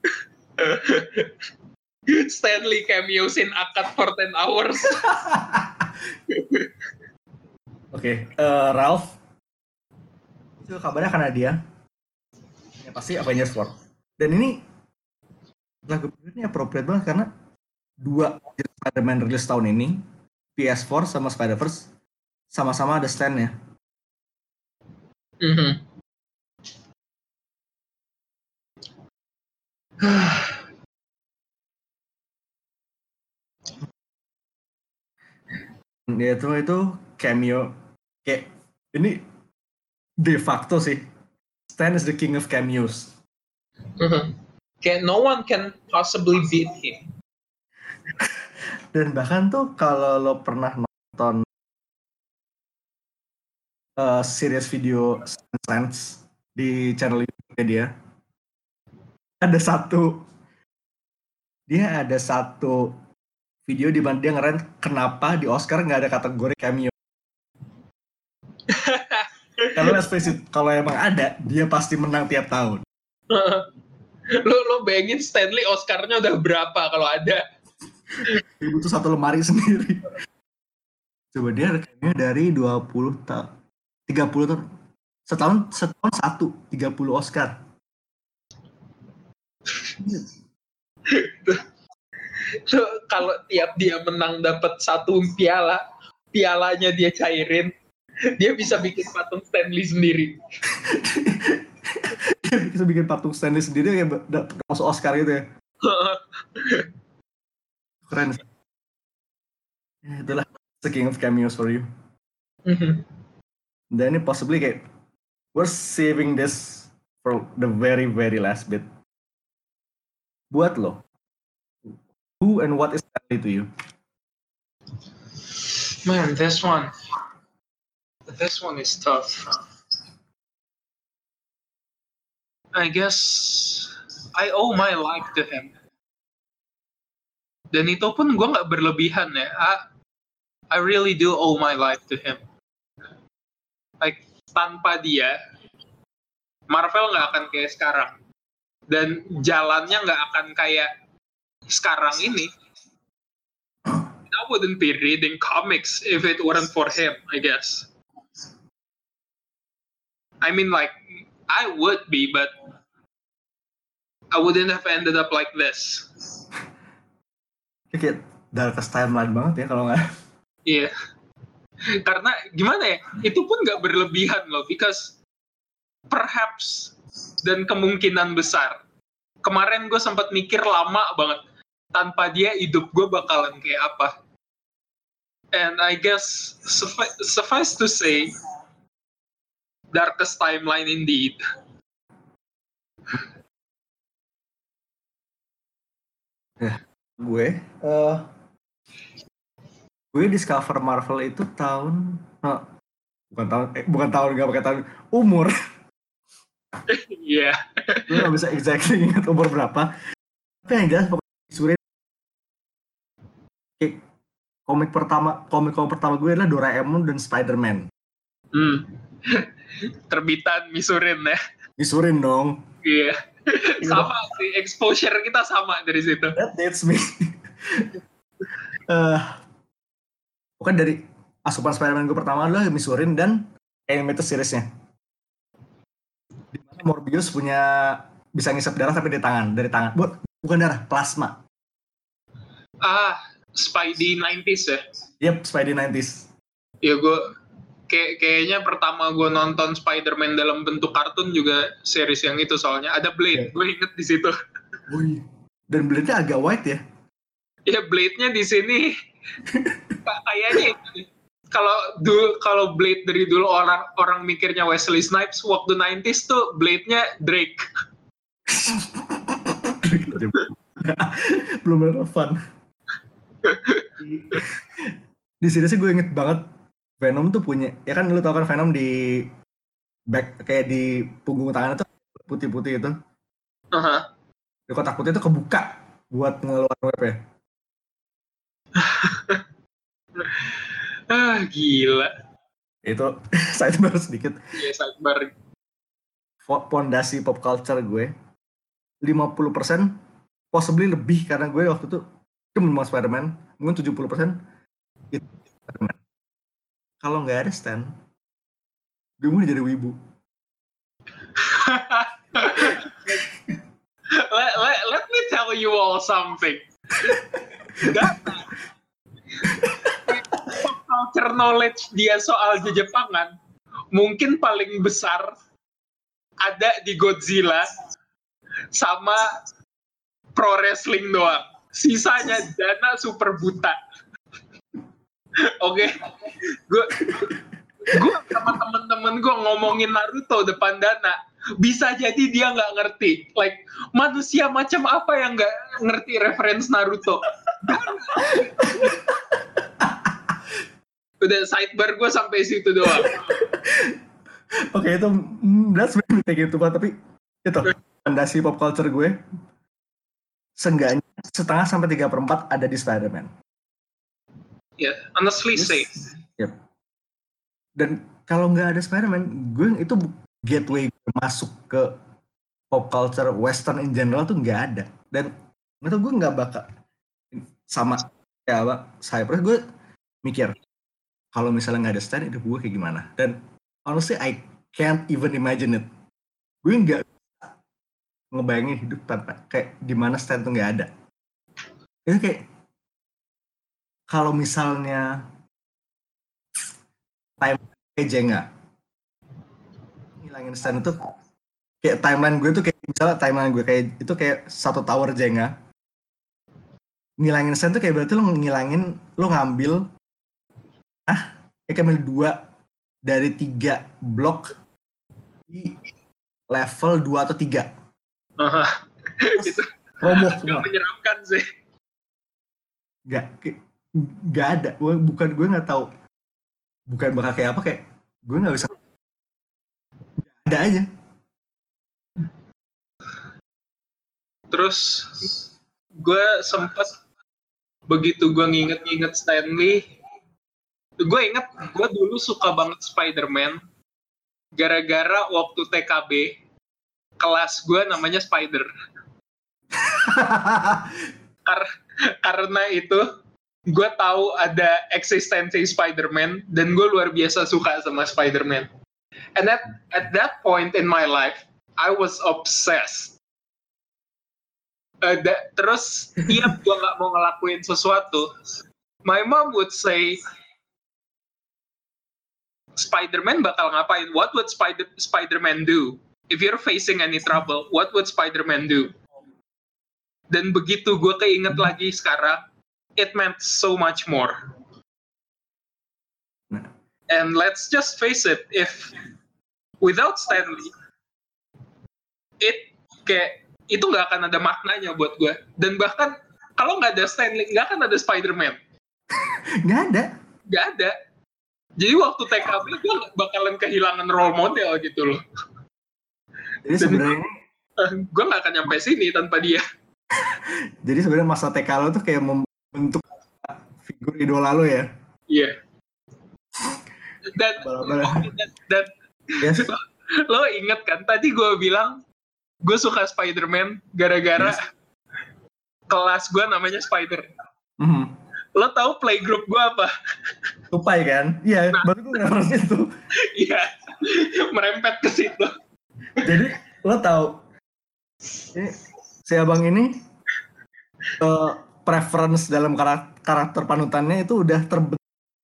C: Stanley cameos in Akad for ten hours.
B: Oke, okay, uh, Ralph. Itu kabarnya karena dia. Ya pasti Avengers War. Dan ini lagu ini appropriate banget karena dua Spider-Man rilis tahun ini, P S four sama Spider-Verse, sama-sama ada stand-nya.
C: Mm-hmm.
B: Dia itu itu cameo kayak ini de facto sih. Stan is the king of cameos.
C: Mm-hmm. Kayak no one can possibly beat him.
B: Dan bahkan tuh kalau lo pernah nonton uh, series video Sense di channel YouTube dia, ada satu dia ada satu video di mana dia ngeren kenapa di Oscar nggak ada kategori cameo. Karena let's face it, kalau emang ada, dia pasti menang tiap tahun.
C: lo lo bayangin Stanley Oscar-nya udah berapa kalau ada?
B: Dia butuh satu lemari sendiri. Coba dia cameo dari dua puluh tahun, tiga puluh tahun, setahun setahun satu, tiga puluh Oscar.
C: So, kalau tiap dia menang dapat satu piala, pialanya dia cairin, dia bisa bikin patung Stanley sendiri.
B: Dia bisa bikin patung Stanley sendiri kayak masuk Oscar gitu ya. Keren. Ya, itulah the king of cameos for you.
C: Mm-hmm.
B: Dan ini possibly kayak we're saving this for the very very last bit. Buat lo, who and what is Stanley to you?
C: Man, this one, this one is tough. I guess I owe my life to him. Dan itu pun gue nggak berlebihan ya. I, I really do owe my life to him. Like tanpa dia, Marvel nggak akan kayak sekarang. Dan jalannya nggak akan kayak sekarang ini. I wouldn't be reading comics if it weren't for him, I guess. I mean, like, I would be, but I wouldn't have ended up like this.
B: Kayak darkest timeline banget ya kalau nggak.
C: Iya. Yeah. Karena gimana ya, itu pun nggak berlebihan loh, because perhaps dan kemungkinan besar. Kemarin gue sempat mikir lama banget, tanpa dia hidup gue bakalan kayak apa. And I guess suffice, suffice to say, darkest timeline indeed.
B: Ya, gue, uh, gue discover Marvel itu tahun, oh, bukan tahun, eh, bukan tahun nggak pakai tahun, umur.
C: Iya. Yeah.
B: Gue nggak bisa exactly ingat umur berapa. Tapi yang jelas pokoknya Surin. Kayak komik pertama, komik-komik pertama gue adalah Doraemon dan Spider-Man.
C: Hmm. Terbitan Misurin ya.
B: Misurin dong.
C: Iya. Yeah. Sama sih, exposure kita sama dari situ.
B: That dates me. uh, bukan dari asupan Spider-Man gue pertama adalah Misurin dan animated series-nya. Di mana Morbius punya bisa ngisap darah tapi di tangan, dari tangan. Bukan darah, plasma.
C: Ah, Spidey nineties ya?
B: Yep, Spidey nineties.
C: Ya gue kayak kayaknya pertama gue nonton Spider-Man dalam bentuk kartun juga series yang itu, soalnya ada Blade, yeah. Gue inget di situ.
B: Wih, dan Blade-nya agak white ya?
C: Ya Blade-nya di sini kayaknya kalau dulu kalau Blade dari dulu orang orang mikirnya Wesley Snipes, waktu nineties tuh Blade-nya Drake.
B: Belum relevan. Di sini sih gue inget banget Venom tuh punya, ya kan lu tau kan Venom di back kayak di punggung tangannya tuh putih-putih itu.
C: Uh-huh.
B: Di kotak putih itu kebuka buat ngeluarin web ya.
C: Ah gila.
B: Itu sidebar sedikit.
C: Iya, sidebar.
B: Fondasi pop culture gue lima puluh persen, possibly lebih karena gue waktu itu demen sama Spider-Man, mungkin tujuh puluh persen itu Spider-Man. Kalau nggak ada Stan, gue mau jadi wibu.
C: let, let, let me tell you all something. Data pop culture knowledge dia soal Jepangan mungkin paling besar ada di Godzilla sama pro wrestling doang. Sisanya Dana super buta. Oke, okay? gue gue sama temen-temen gue ngomongin Naruto depan Dana, bisa jadi dia nggak ngerti. Like manusia macam apa yang nggak ngerti reference Naruto? Udah sidebar gue sampai situ doang.
B: Oke, okay, itu that's very kayak gitu Pak, tapi itu fondasi pop culture gue seenggaknya setengah sampai tiga perempat ada di Spider-Man.
C: Ya, yeah, honestly yes. say.
B: Yep. Dan kalau nggak ada Spider-Man, gue itu gateway masuk ke pop culture Western in general tuh nggak ada. Dan itu gue nggak bakal sama kayak apa Cypress, gue mikir kalau misalnya nggak ada Stan, hidup gue kayak gimana. Dan honestly, I can't even imagine it. Gue nggak ngebayangin hidup tanpa kayak dimana Stan tuh nggak ada. Itu kayak kalau misalnya time kayak Jenga, ngilangin Stan itu kayak timeline gue tuh kayak misalnya timeline gue kayak itu kayak satu tower Jenga. Ngilangin Stan tuh kayak berarti lo ngilangin, lo ngambil ah kayak ngambil dua dari tiga blok di level dua atau tiga.
C: Uh, itu
B: roboh semua.
C: Menyeramkan sih.
B: Gak, gak ada. Bukan gue nggak tahu. Bukan bakal kayak apa kayak gue nggak bisa. Gak ada aja.
C: Terus gue sempet begitu gue nginget-nginget Stanley. Gue inget, gue dulu suka banget Spider-Man gara-gara waktu T K B kelas gue namanya Spider. Kar- karena itu gue tahu ada eksistensi Spider-Man dan gue luar biasa suka sama Spider-Man. And at, at that point in my life, I was obsessed. Uh, da- terus tiap gue gak mau ngelakuin sesuatu, my mom would say, Spider-Man bakal ngapain? What would Spider- Spider-Man do? If you're facing any trouble, what would Spider-Man do? Dan begitu gue keinget lagi sekarang, it meant so much more. And let's just face it, if without Stanley, it kayak itu nggak akan ada maknanya buat gue. Dan bahkan kalau nggak ada Stanley, nggak akan ada Spider-Man.
B: Nggak ada.
C: Nggak ada. Jadi waktu T K B gue bakalan kehilangan role model gitu loh.
B: Jadi sebenarnya
C: uh, gue nggak akan nyampe sini tanpa dia.
B: Jadi sebenarnya masa T K lo tuh kayak membentuk figur idola lo ya?
C: Iya. Yeah. Dan, okay, dan, dan yes. Lo inget kan tadi gue bilang gue suka Spider-Man gara-gara yes. kelas gue namanya Spider. Mm-hmm. Lo tahu playgroup gue apa?
B: Tupai kan? Iya, nah, baru gue ngerasa itu.
C: Iya, merempet ke situ.
B: Jadi lo tahu, ini, si abang ini uh, preference dalam karakter, karakter panutannya itu udah terbentuk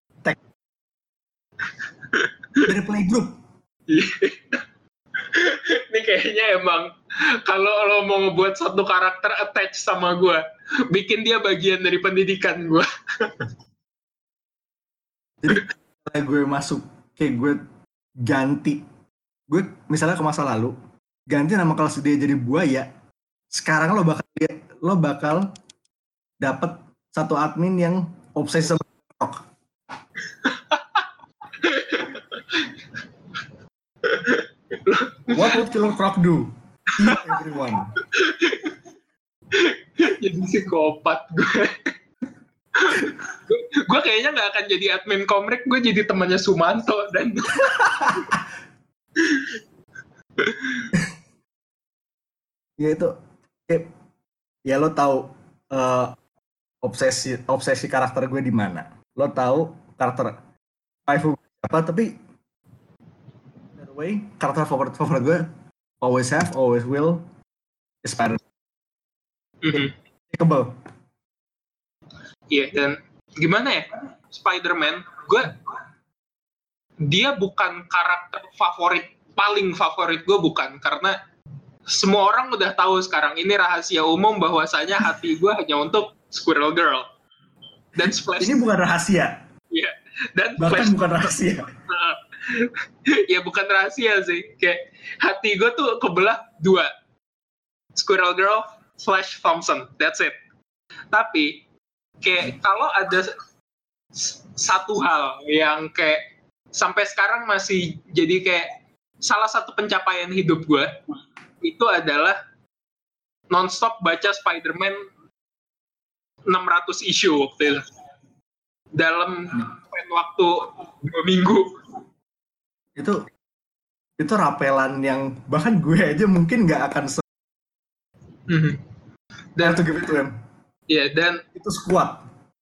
B: dari playgroup.
C: Ini kayaknya emang kalau lo mau ngebuat satu karakter attach sama gue, bikin dia bagian dari pendidikan gue.
B: Jadi kalau gue masuk kayak gue ganti, gue misalnya ke masa lalu ganti nama kelas dia jadi buaya, sekarang lo bakal lo bakal dapat satu admin yang obsesi sama rock. What would Killer Croc do? Eat everyone.
C: Jadi psikopat gue. gue kayaknya nggak akan jadi admin Komrik, gue jadi temannya Sumanto dan
B: ya itu kayak, ya lo tahu uh, obsesi obsesi karakter gue di mana, lo tahu karakter waifu apa, tapi by the way karakter favorit favorit gue always have always will is Spider-Man.
C: mm-hmm.
B: Kebal.
C: Iya, dan gimana ya, Spider-Man, gue dia bukan karakter favorit, paling favorit gue bukan, karena semua orang udah tahu sekarang, ini rahasia umum bahwasanya hati gue hanya untuk Squirrel Girl dan Splash.
B: Ini bukan rahasia.
C: Iya, dan
B: bahkan
C: Flash,
B: bukan rahasia.
C: ya bukan rahasia sih, kayak hati gue tuh kebelah dua, Squirrel Girl, Flash Thompson, that's it. Tapi kayak kalau ada satu hal yang kayak sampai sekarang masih jadi kayak salah satu pencapaian hidup gue, itu adalah nonstop baca Spider-Man enam ratus issue waktu itu dalam waktu dua minggu.
B: Itu itu rapelan yang bahkan gue aja mungkin nggak akan se-
C: mm-hmm. dan
B: to give it to him.
C: Ya, dan
B: itu squad.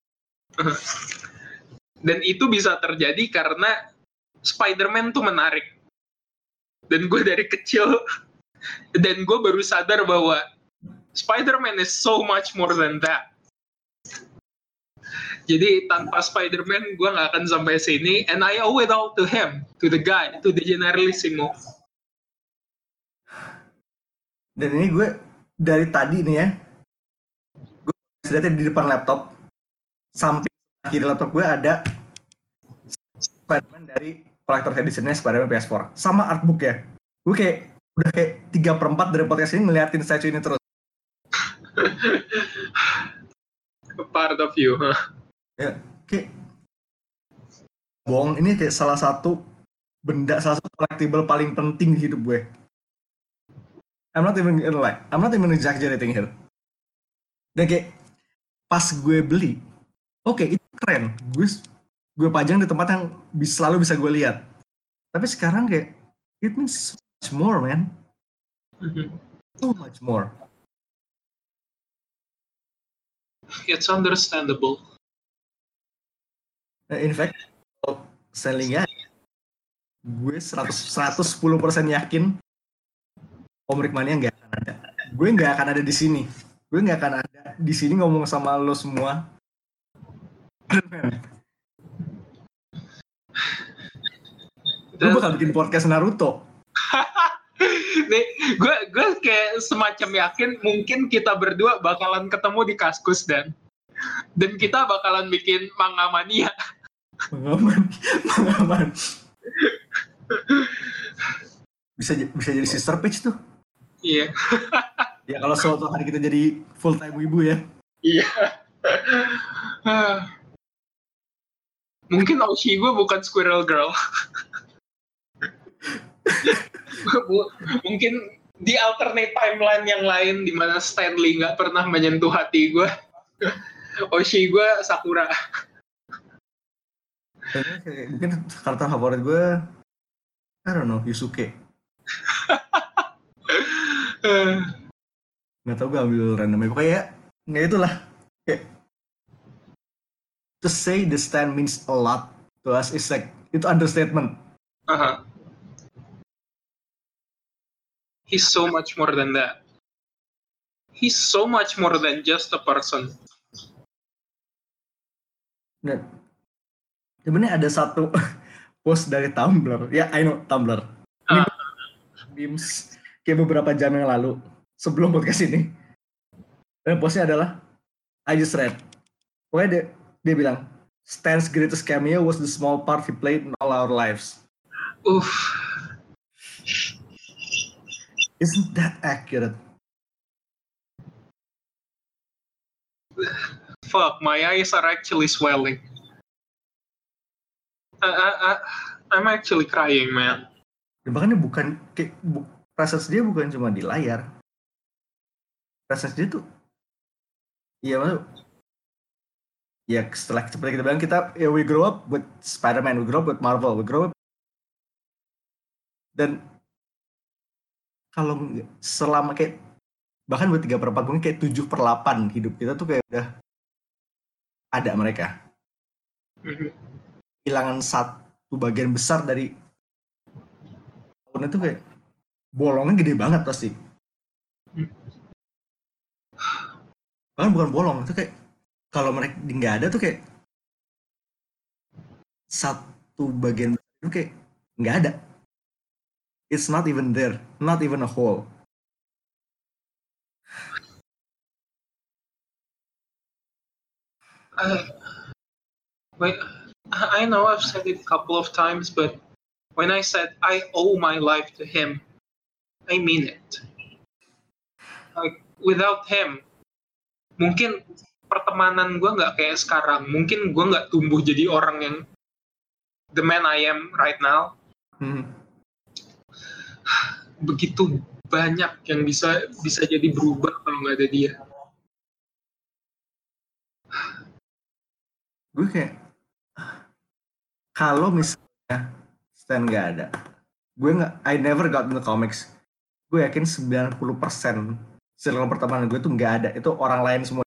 C: Dan itu bisa terjadi karena Spider-Man tuh menarik. Dan gue dari kecil, dan gue baru sadar bahwa Spider-Man is so much more than that. Jadi tanpa Spider-Man gue gak akan sampai sini, and I owe it all to him, to the guy, to the Generalissimo.
B: Dan ini gue dari tadi nih ya, gue sedang di depan laptop, samping kiri laptop gue ada Spider-Man dari collector editionnya Spider-Man P S four sama artbook ya. Gue kayak udah kayak tiga per empat dari podcast ini ngeliatin statue ini terus.
C: Part of you, huh?
B: Ya, kayak bohong, ini kayak salah satu benda, salah satu collectible paling penting di hidup gue. I'm not even like, I'm not even exaggerating here. Dan kayak pas gue beli, oke okay, itu keren, gue gue pajang di tempat yang bisa, selalu bisa gue lihat. Tapi sekarang kayak it means so much more, man. So much more.
C: It's understandable.
B: In fact, sellingnya gue seratus, seratus sepuluh persen yakin Komrik Mania nggak akan ada. Gue nggak akan ada di sini. Gue nggak akan ada di sini ngomong sama lo semua. Gue bakal bikin podcast Naruto.
C: Nih, gue gue kayak semacam yakin mungkin kita berdua bakalan ketemu di Kaskus dan dan kita bakalan bikin manga mania.
B: Mangaman, mangaman. Bisa bisa jadi sister page tuh.
C: Iya.
B: Ya kalau suatu hari kita jadi full time wibu ya.
C: Iya. Mungkin Oshi gue bukan Squirrel Girl. Mungkin di alternate timeline yang lain di mana Stanley nggak pernah menyentuh hati gue. Oshi gue Sakura.
B: Mungkin karakter favorit gue, I don't know, Yusuke. Nggak tau, gue ambil randomnya. Pokoknya nggak itulah. Kayak, to say the stand means a lot to us is like, itu understatement.
C: Uh-huh. He's so much more than that. He's so much more than just a person.
B: Dan sebenarnya ada satu post dari Tumblr. Ya, I know Tumblr. Ini uh. memes kayak beberapa jam yang lalu sebelum podcast ini. Dan postnya adalah I just read. Pokoknya dia, dia bilang Stan's greatest cameo was the small part he played in all our lives.
C: Uff.
B: Isn't that accurate?
C: Fuck, my eyes are actually swelling. Uh, uh, uh, I'm actually crying, man.
B: Ya, bahkan dia bukan kayak bu, presence dia bukan cuma di layar. Presence dia tuh, iya maksud, ya setelah seperti kita bilang, kita ya, we grow up with Spider-Man, we grow up with Marvel, we grow up, dan kalau nggak- selama kayak bahkan buat tiga per empat mungkin kayak tujuh per delapan hidup kita tuh kayak udah ada mereka.
C: Mhm.
B: Kehilangan satu bagian besar dari tahun itu kayak bolongnya gede banget pasti. Bahkan bukan bolong, itu kayak kalau mereka nggak ada tuh kayak satu bagian besar itu kayak nggak ada. It's not even there, not even a whole.
C: I, wait, I know I've said it a couple of times, but when I said I owe my life to him, I mean it. Like, without him, mungkin pertemanan gue nggak kayak sekarang. Mungkin gue nggak tumbuh jadi orang yang the man I am right now.
B: Hmm.
C: Begitu banyak yang bisa bisa jadi berubah kalau nggak ada dia.
B: Gue kayak kalau misalnya Stan nggak ada, gue nggak, I never got into comics. Gue yakin sembilan puluh persen circle pertemanan gue tuh nggak ada, itu orang lain semua.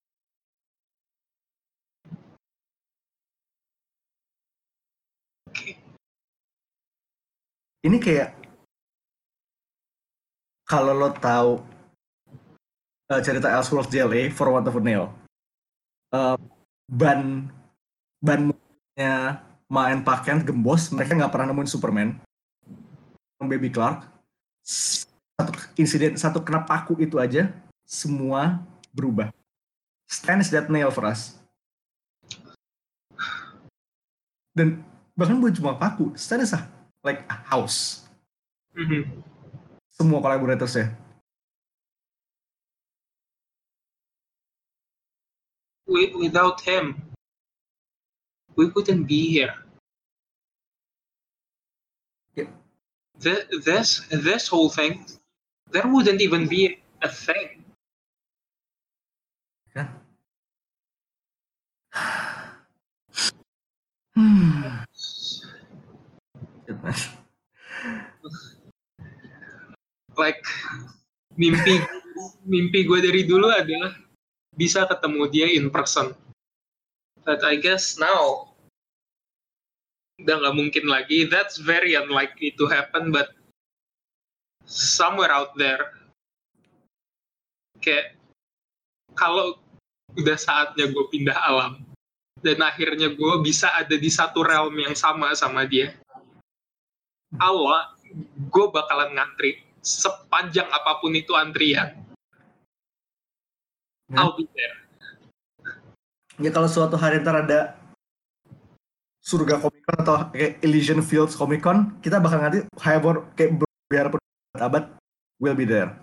B: Ini kayak kalau lo tahu uh, cerita Ellsworth J L A For Want of a Nail, uh, ban ban mobilnya main pakaian gembos, mereka nggak pernah nemuin Superman, Baby Clark. Satu insiden, satu kena paku itu aja, semua berubah. Stan is that nail for us. Dan bahkan bukan cuma paku, Stan is a, like a house.
C: Mm-hmm.
B: Semua kolaboratorsnya.
C: Without him, we wouldn't be here.
B: Yep.
C: Th- this this whole thing, there wouldn't even be a thing.
B: Yeah. Hmm.
C: Like mimpi mimpi gue dari dulu adalah bisa ketemu dia in person. But I guess now udah nggak mungkin lagi. That's very unlikely to happen. But somewhere out there, kayak kalau udah saatnya gue pindah alam dan akhirnya gue bisa ada di satu realm yang sama sama dia, Allah, gue bakalan ngantri sepanjang apapun itu antrian.
B: Ya.
C: I'll be there.
B: Ya kalau suatu hari ntar ada surga Comic Con atau kayak Elysian Fields Comic Con, kita bakal ngerti however kayak biarpun abad will be there.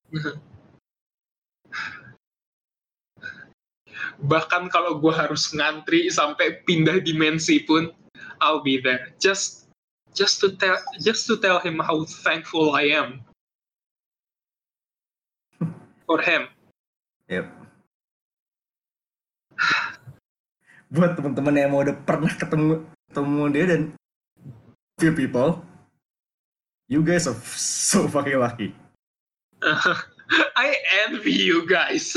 C: Bahkan kalau gue harus ngantri sampai pindah dimensi pun, I'll be there. Just just to tell just to tell him how thankful I am for him.
B: Yep. Buat teman-teman yang mau udah pernah ketemu ketemu dia dan few people, you guys are so fucking lucky.
C: I envy you guys.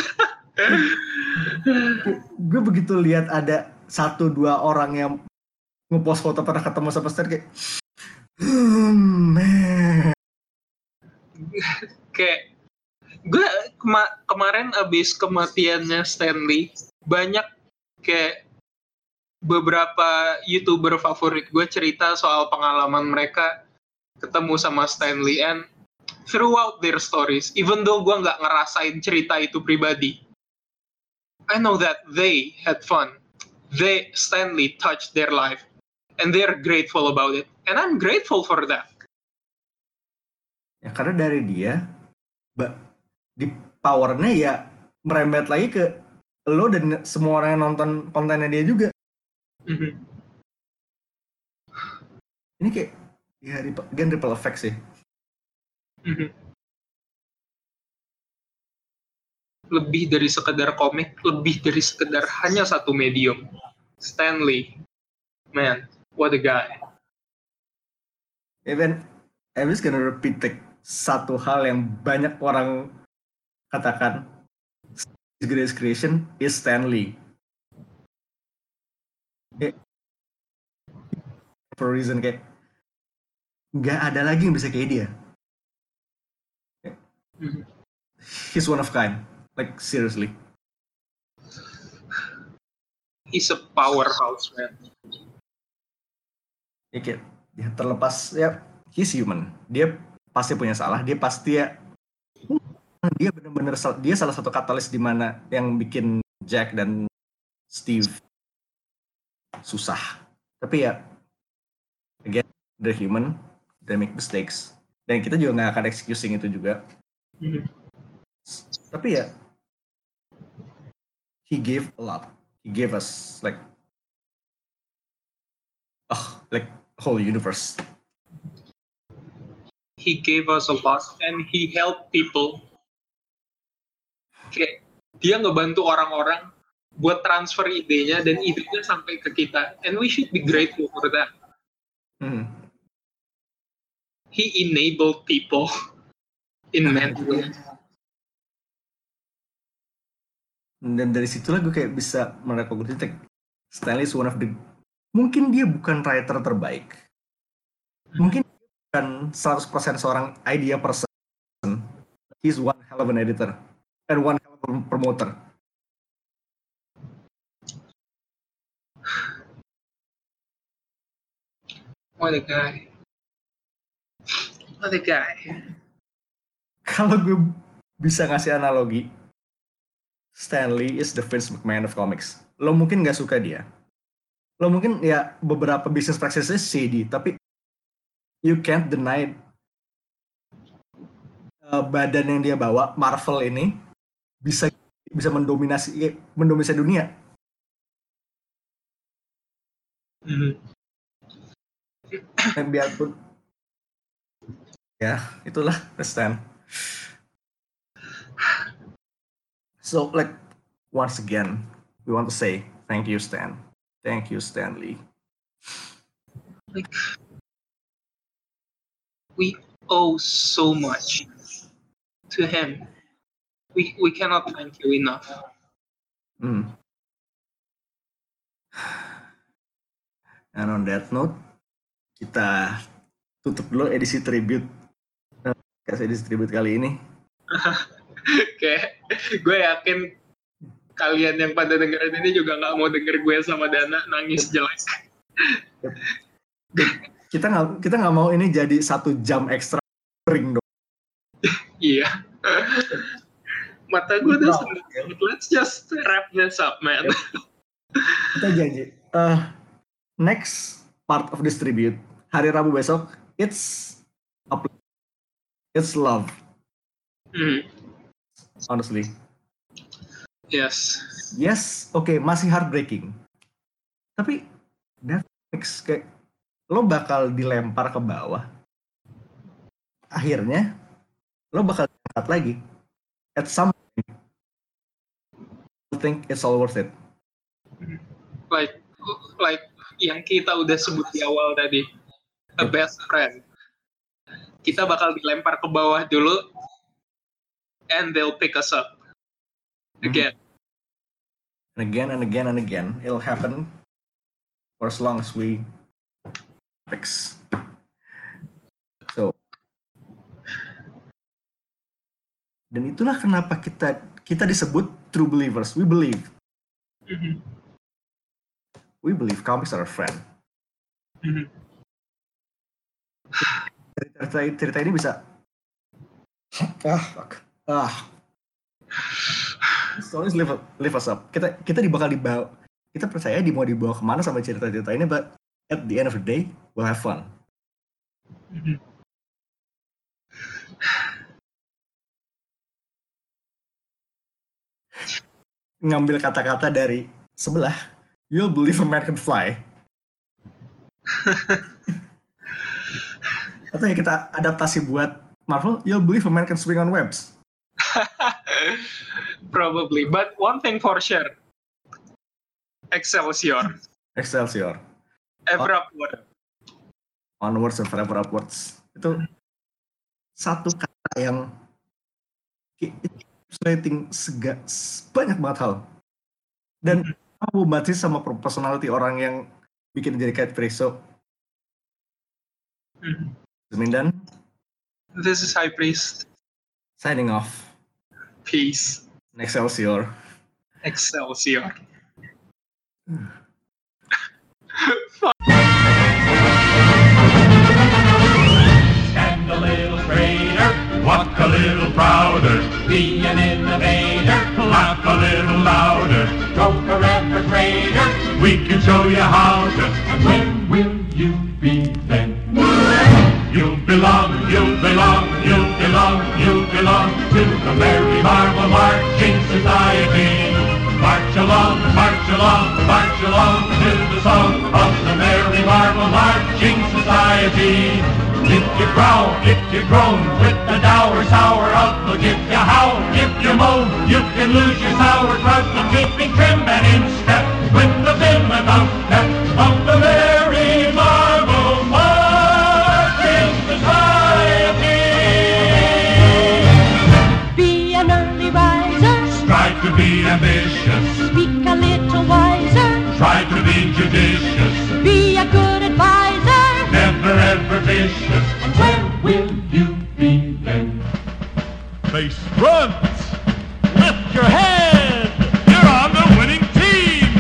B: Gue begitu lihat ada satu dua orang yang ngepost foto pernah ketemu sama Stan kayak, hmm, man.
C: Kayak gue kema- kemarin abis kematiannya Stanley, banyak kayak beberapa YouTuber favorit gue cerita soal pengalaman mereka ketemu sama Stanley, and throughout their stories, even though gue nggak ngerasain cerita itu pribadi, I know that they had fun. They, Stanley, touched their life, and they're grateful about it, and I'm grateful for that.
B: Ya karena dari dia, ba- di powernya ya merembet lagi ke lo dan semua orang yang nonton kontennya dia juga.
C: Mm-hmm.
B: Ini kayak ya again ripple effect sih.
C: Mm-hmm. Lebih dari sekedar komik, lebih dari sekedar hanya satu medium. Stan Lee, man, what a guy.
B: Even I'm just gonna repeat like, satu hal yang banyak orang katakan, his greatest creation is Stan Lee. Kayak, for a reason kayak nggak ada lagi yang bisa kayak dia.
C: Mhm.
B: He's one of kind, like seriously.
C: He's a powerhouse, man.
B: Ya, kayak, ya terlepas ya he's human, dia pasti punya salah, dia pasti ya dia benar-benar dia salah satu katalis di mana yang bikin Jack dan Steve susah. Tapi ya again they're human, they make mistakes, dan kita juga nggak akan excusing itu juga.
C: Mhm.
B: Tapi ya he gave a lot, he gave us like oh like whole universe.
C: He gave us a lot and he helped people. Kayak dia ngebantu orang-orang buat transfer idenya dan idenya sampai ke kita, and we should be grateful for that.
B: Hmm.
C: He enabled people in many ways.
B: Dan dari situlah gue kayak bisa merekognisi like, Stan Lee is one of the, mungkin dia bukan writer terbaik, mungkin dia bukan seratus persen seorang idea person, he's one hell of an editor and one hell of a promoter.
C: What a guy. What a guy.
B: Kalau gue bisa ngasih analogi, Stan Lee is the Vince McMahon of comics. Lo mungkin nggak suka dia, lo mungkin ya beberapa business practices shady, tapi you can't deny uh, badan yang dia bawa, Marvel ini bisa bisa mendominasi mendominasi dunia.
C: Mm-hmm.
B: Dan biarpun ya itulah Stan. So like once again we want to say thank you Stan, thank you Stan Lee.
C: Like we owe so much to him. We we cannot thank you enough.
B: Hmm. And on that note, kita tutup dulu edisi tribute, kasih edisi tribute kali ini.
C: Kayak gue yakin kalian yang pada dengerin ini juga nggak mau denger gue sama Dana nangis jelek.
B: Kita nggak kita nggak mau ini jadi satu jam ekstra ring dong.
C: Iya. Mata gue udah seneng. Let's just wrap this up, man.
B: Kita janji. Uh, next part of this tribute hari Rabu besok, it's it's love.
C: Mm.
B: Honestly.
C: Yes.
B: Yes, oke, okay, masih heartbreaking. Tapi Netflix kayak lo bakal dilempar ke bawah. Akhirnya lo bakal diangkat lagi. At some point, I think it's all worth it.
C: Like like yang kita udah sebut di awal tadi, a best friend. Kita bakal dilempar ke bawah dulu, and they'll pick us up again.
B: And again and again and again, it'll happen for as long as we fix. So, dan itulah kenapa kita kita disebut true believers. We believe.
C: Mm-hmm.
B: We believe comics are a friend.
C: Mm-hmm.
B: Cerita, cerita ini bisa ah fuck ah stories lift, lift us up. Kita kita dibakal dibawa, kita percaya di mau dibawa kemana sama cerita-cerita ini, but at the end of the day we'll have fun.
C: Mm-hmm.
B: Ngambil kata-kata dari sebelah, you'll believe a man can fly. Atau ya kita adaptasi buat Marvel, you'll believe a man can swing on webs.
C: Probably, but one thing for sure, Excelsior.
B: Excelsior.
C: Ever upward.
B: Onwards and forever upwards. Itu satu kata yang translating sega banyak banget hal. Dan aku baca sama personality orang yang bikin jadi catchphrase. So, Mindan.
C: This is High Priest.
B: Signing off.
C: Peace.
B: Excelsior.
C: Excelsior.
D: Stand a little straighter, walk a little prouder, be an innovator, laugh a little louder, go forever greater. We can show you how to. And when will you be then? You belong, you belong, you belong, you belong to the Merry Marble Marching Society. March along, march along, march along to the song of the Merry Marble Marching Society. If you growl, if you groan, with the dour, sour outlook, if you howl, if you moan, you can lose your sauerkraut from keeping trim and in step with the vim and outstep of the Merry Marble Marching Society.
E: Be an early riser,
D: Strive to be ambitious,
E: speak a little wiser,
D: try to be judicious,
E: be a good advisor.
D: never ever vicious.
E: And when
D: Will you be then?
F: Base front! Lift your head! You're on the winning team!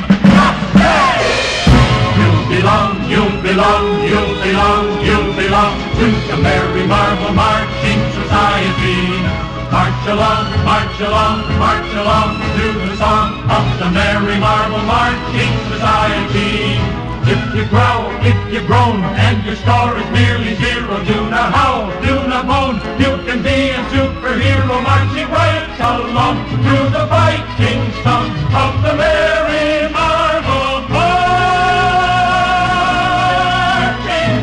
D: You belong, you belong, you belong, you belong to the Merry Marble Marching Society. March along, march along, march along to the song of the Merry Marble Marching Society. If you growl, if you groan, and your score is merely zero, do not howl, do not moan. You can be a superhero marching right along through the fighting song of the Merry Marble Marching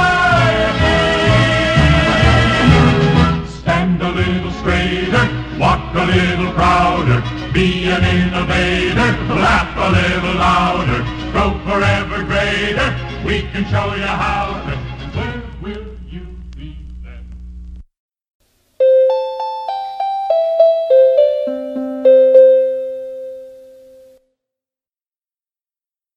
D: Society. Stand a little straighter, walk a little prouder, be an innovator, laugh a little louder, grow forever greater. We can show you how to.